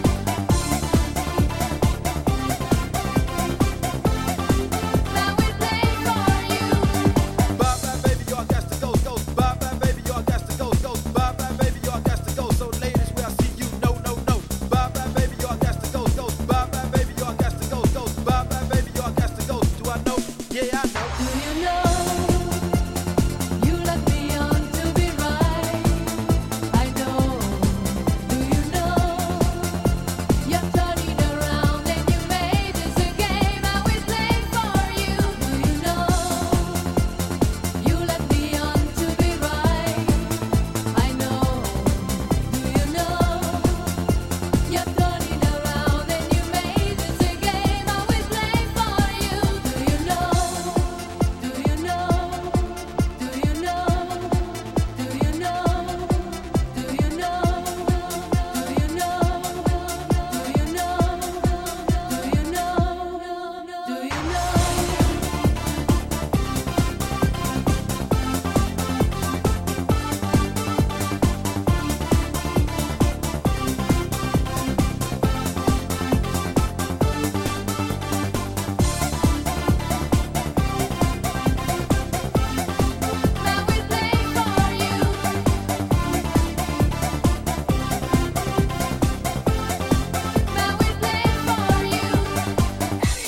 I will play for you. Bye bye baby, y'all got to go, go. Bye bye baby, y'all got to go, go. Bye bye baby, y'all got to go. So ladies, where I see you, no, no, no. Bye bye baby, y'all got to go, go. Bye bye baby, y'all got to go, go. Bye bye baby, y'all got to go. Do I know? Yeah, I know. Do you know you led me on to be right? I know. Do you know you're turning around and you made this a game I will play for you? Do you know you led me on to be right? I know. Do you know you're turning around and you made this a game I will play for you? Do you know? Do you know? Do you know? Do you know? Do you know? Do you know? Do you know? Do you know? Do you I will play for you. I will play for you.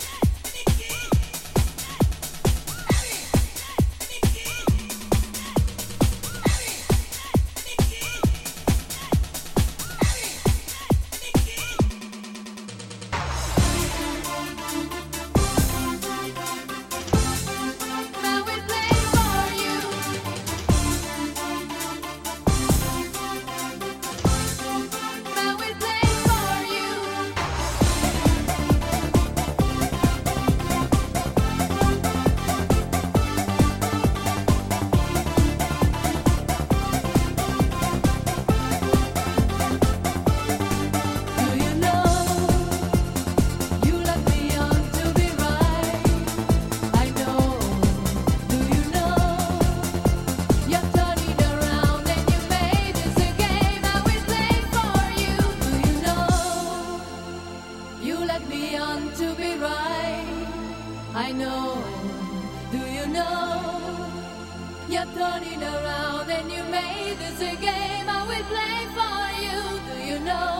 I will play for you. I will play for you. Do you know you led me on to be right? I know. Do you know you're turning around and you made this a game I will play for you? Do you know you led me on to be right? I know. Do you know you're turning around and you made this a game I will play for you? Do you know?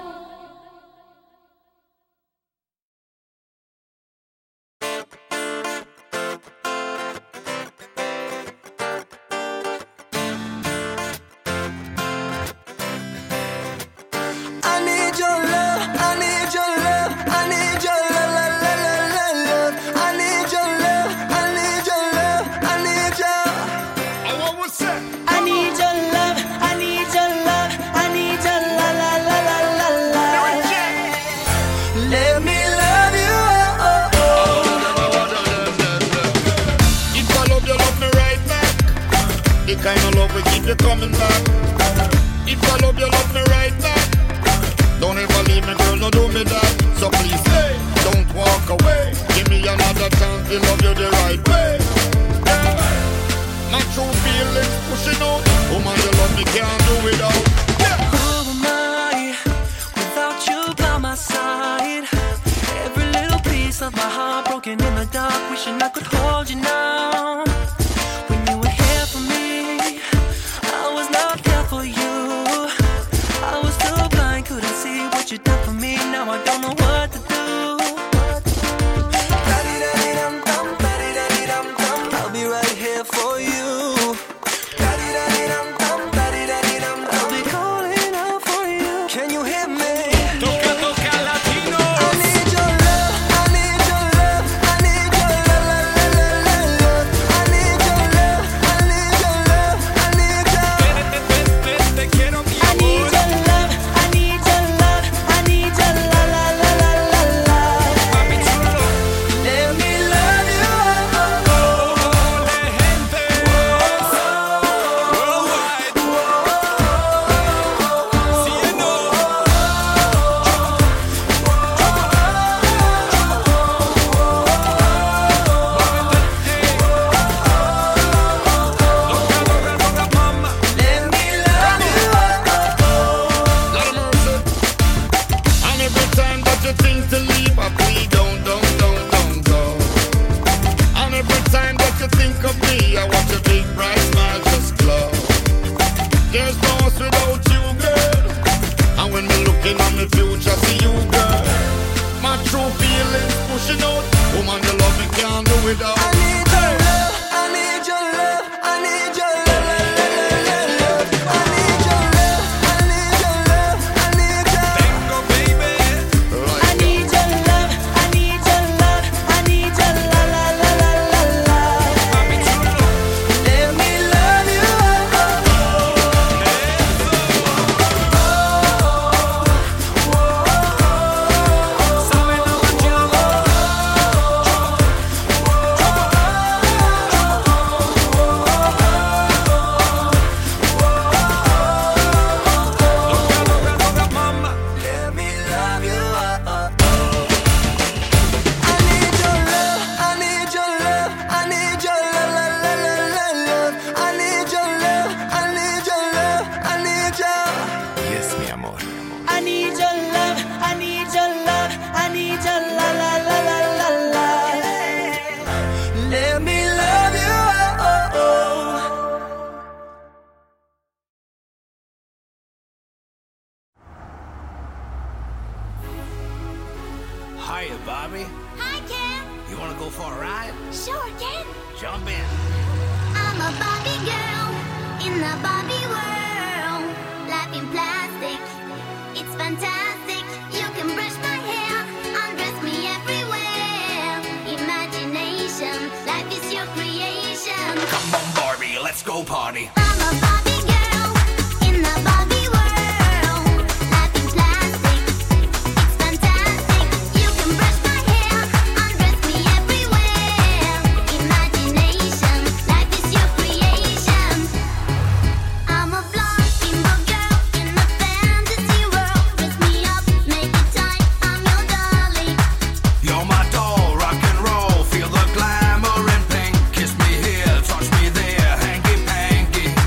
I need your love, I need your love, I need your love, love, love, love, love. I need your love, I need your love, I need your. I want what's that? I need your love, I need your love, I need your la la la la keep you coming back. If I love you, love me right back. Don't ever leave me, girl, no do me that. So please stay, don't walk away. Give me another chance to love you the right way. Yeah. My true feelings pushing out. Woman, you love me, can't do without. Yeah. Who am I without you by my side? Every little piece of my heart broken in the dark, wishing I could hold you now. When you were here for me, I was not there for you. I was too blind, couldn't see what you done for me. Now I don't know what to do. I'll be right here for you. I'll be calling out for you. Can you hear me? Hiya, Bobby. Hi, Ken. You wanna go for a ride? Sure, Ken. Jump in. I'm a Barbie girl in the Barbie world. Life in plastic, it's fantastic. You can brush my hair, undress me everywhere. Imagination, life is your creation. Come on, Barbie, let's go party. I'm a Barbie girl in the Barbie world. Life in plastic, it's fantastic. You can brush my hair, undress me everywhere. Imagination, life is your creation. I'm a blonde bimbo girl in a fantasy world. Dress me up, make it tight, I'm your darling. You're my doll, rock and roll. Feel the glamour and pink. Kiss me here, touch me there, hanky panky.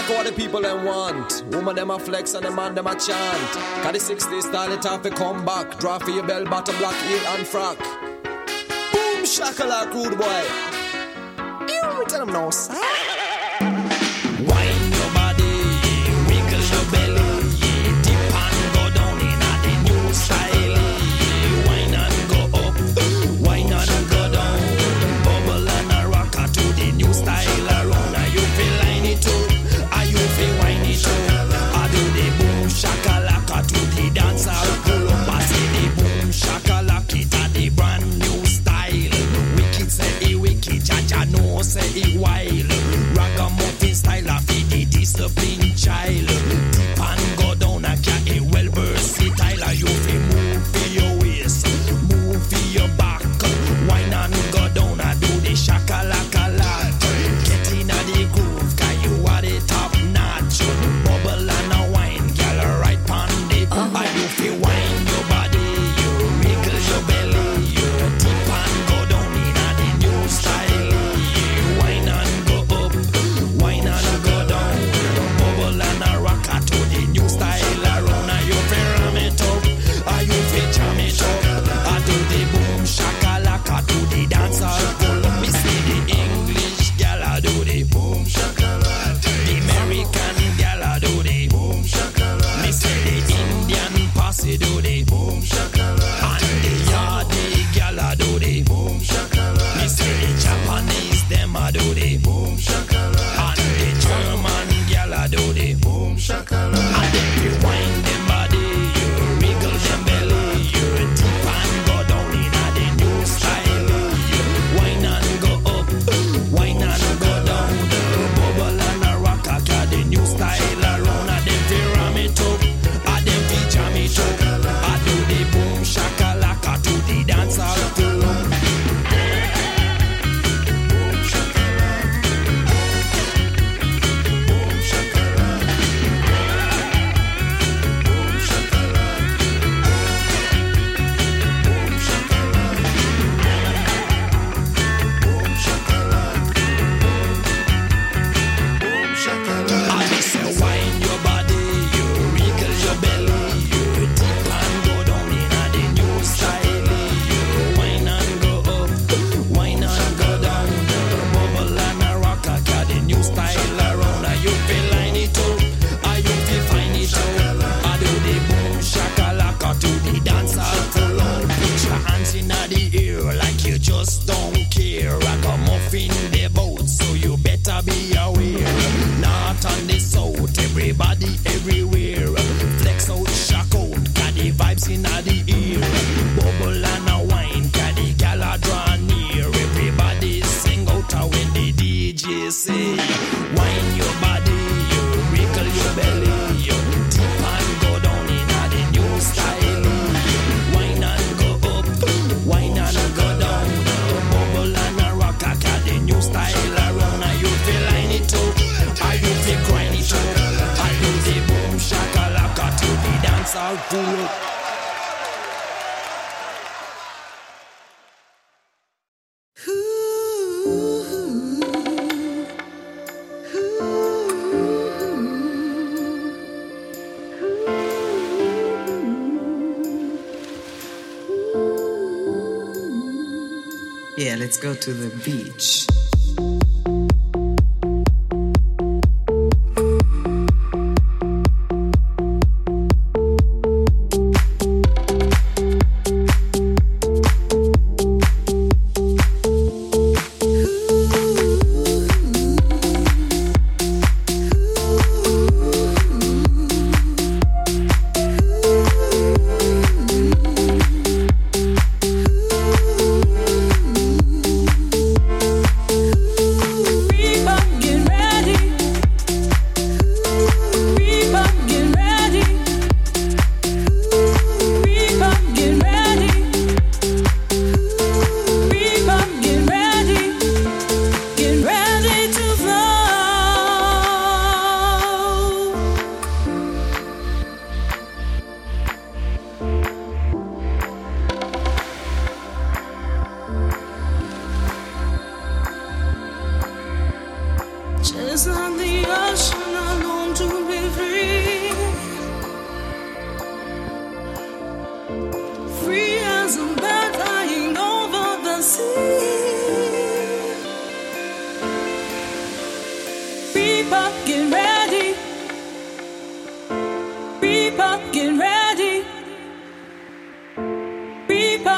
exactly what the people them want. Woman them a flex and the man them a chant. Cause the 60s style it have to come back. Draw for your bell bottom, black heel and frock. Boom shakalak, rude boy. You tell them no, sir. Wine your body, wiggle your belly, dip and go down in the new style. Wine and go up, wine and go down, bubble and a rocker to the new style around. Are you feel line it up? Are you feel wine it up? I do the boom shakalaka to the dance I'll pull up. I say the boom shakalaka it a the brand new style. Wicked say it wicked, Jaja no say it wild. Ragamuffin style of the disciplined child. Dip and go down a cat a well versatile. You feel move for your waist, move for your back. Wine and go down and do the shakalaka lot. Get in a the groove, cause you are the top notch. Bubble and a wine, girl right pon the. And you feel wine your body, you wiggle your belly, you dip and go down in a the new style. Wine and go up, wine and go down, bubble and a rocker to the new style around. And you feel ram it up, and you feel jam it up. I do the boom shakalaka to the dance hall full. Me see the English gal I do the boom shakalaka. The American gal I do the boom shakalaka. Me see the Indian posse do the boom shakalaka. And the Yardi gal I do the boom shakalaka. Me see the Japanese them I do the boom shakalaka. And the German gal I do the boom shakalaka. And if you wind them body, you wiggle them belly, you dip and go down in a the new style. You wine and go up, wine and go down, the bubble and a rocker, got the new style around. And them fi ram it up, and them fi jam it up. I do the boom shakalaka to the dance hall full. I say wine your body, you wiggle your belly, you dip and go down in a the new style. You wine and go up, wine and go down, bubble and a rocker, got the new style around. And you feel line it up, and you feel fine it up. I do the boom shakalaka to the dance hall full on. Put your hands in the air like you just don't care. Ragamuffin the boat, so you better be aware. North and the south, everybody everywhere. Flex out, shock out, got the vibes in the ear. Bubble and a wine, got the gala draw near. Everybody sing out when the DJ say, wine your body, you wiggle your belly, you dip and go down in a the new style. Wine and go up, wine and go down, bubble and a rocker, got the new style around. And you feel line it up, and you feel grind it up. I do the boom shakalaka to the dance hall full up. Yeah, let's go to the beach.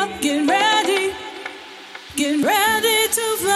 Get ready to fly.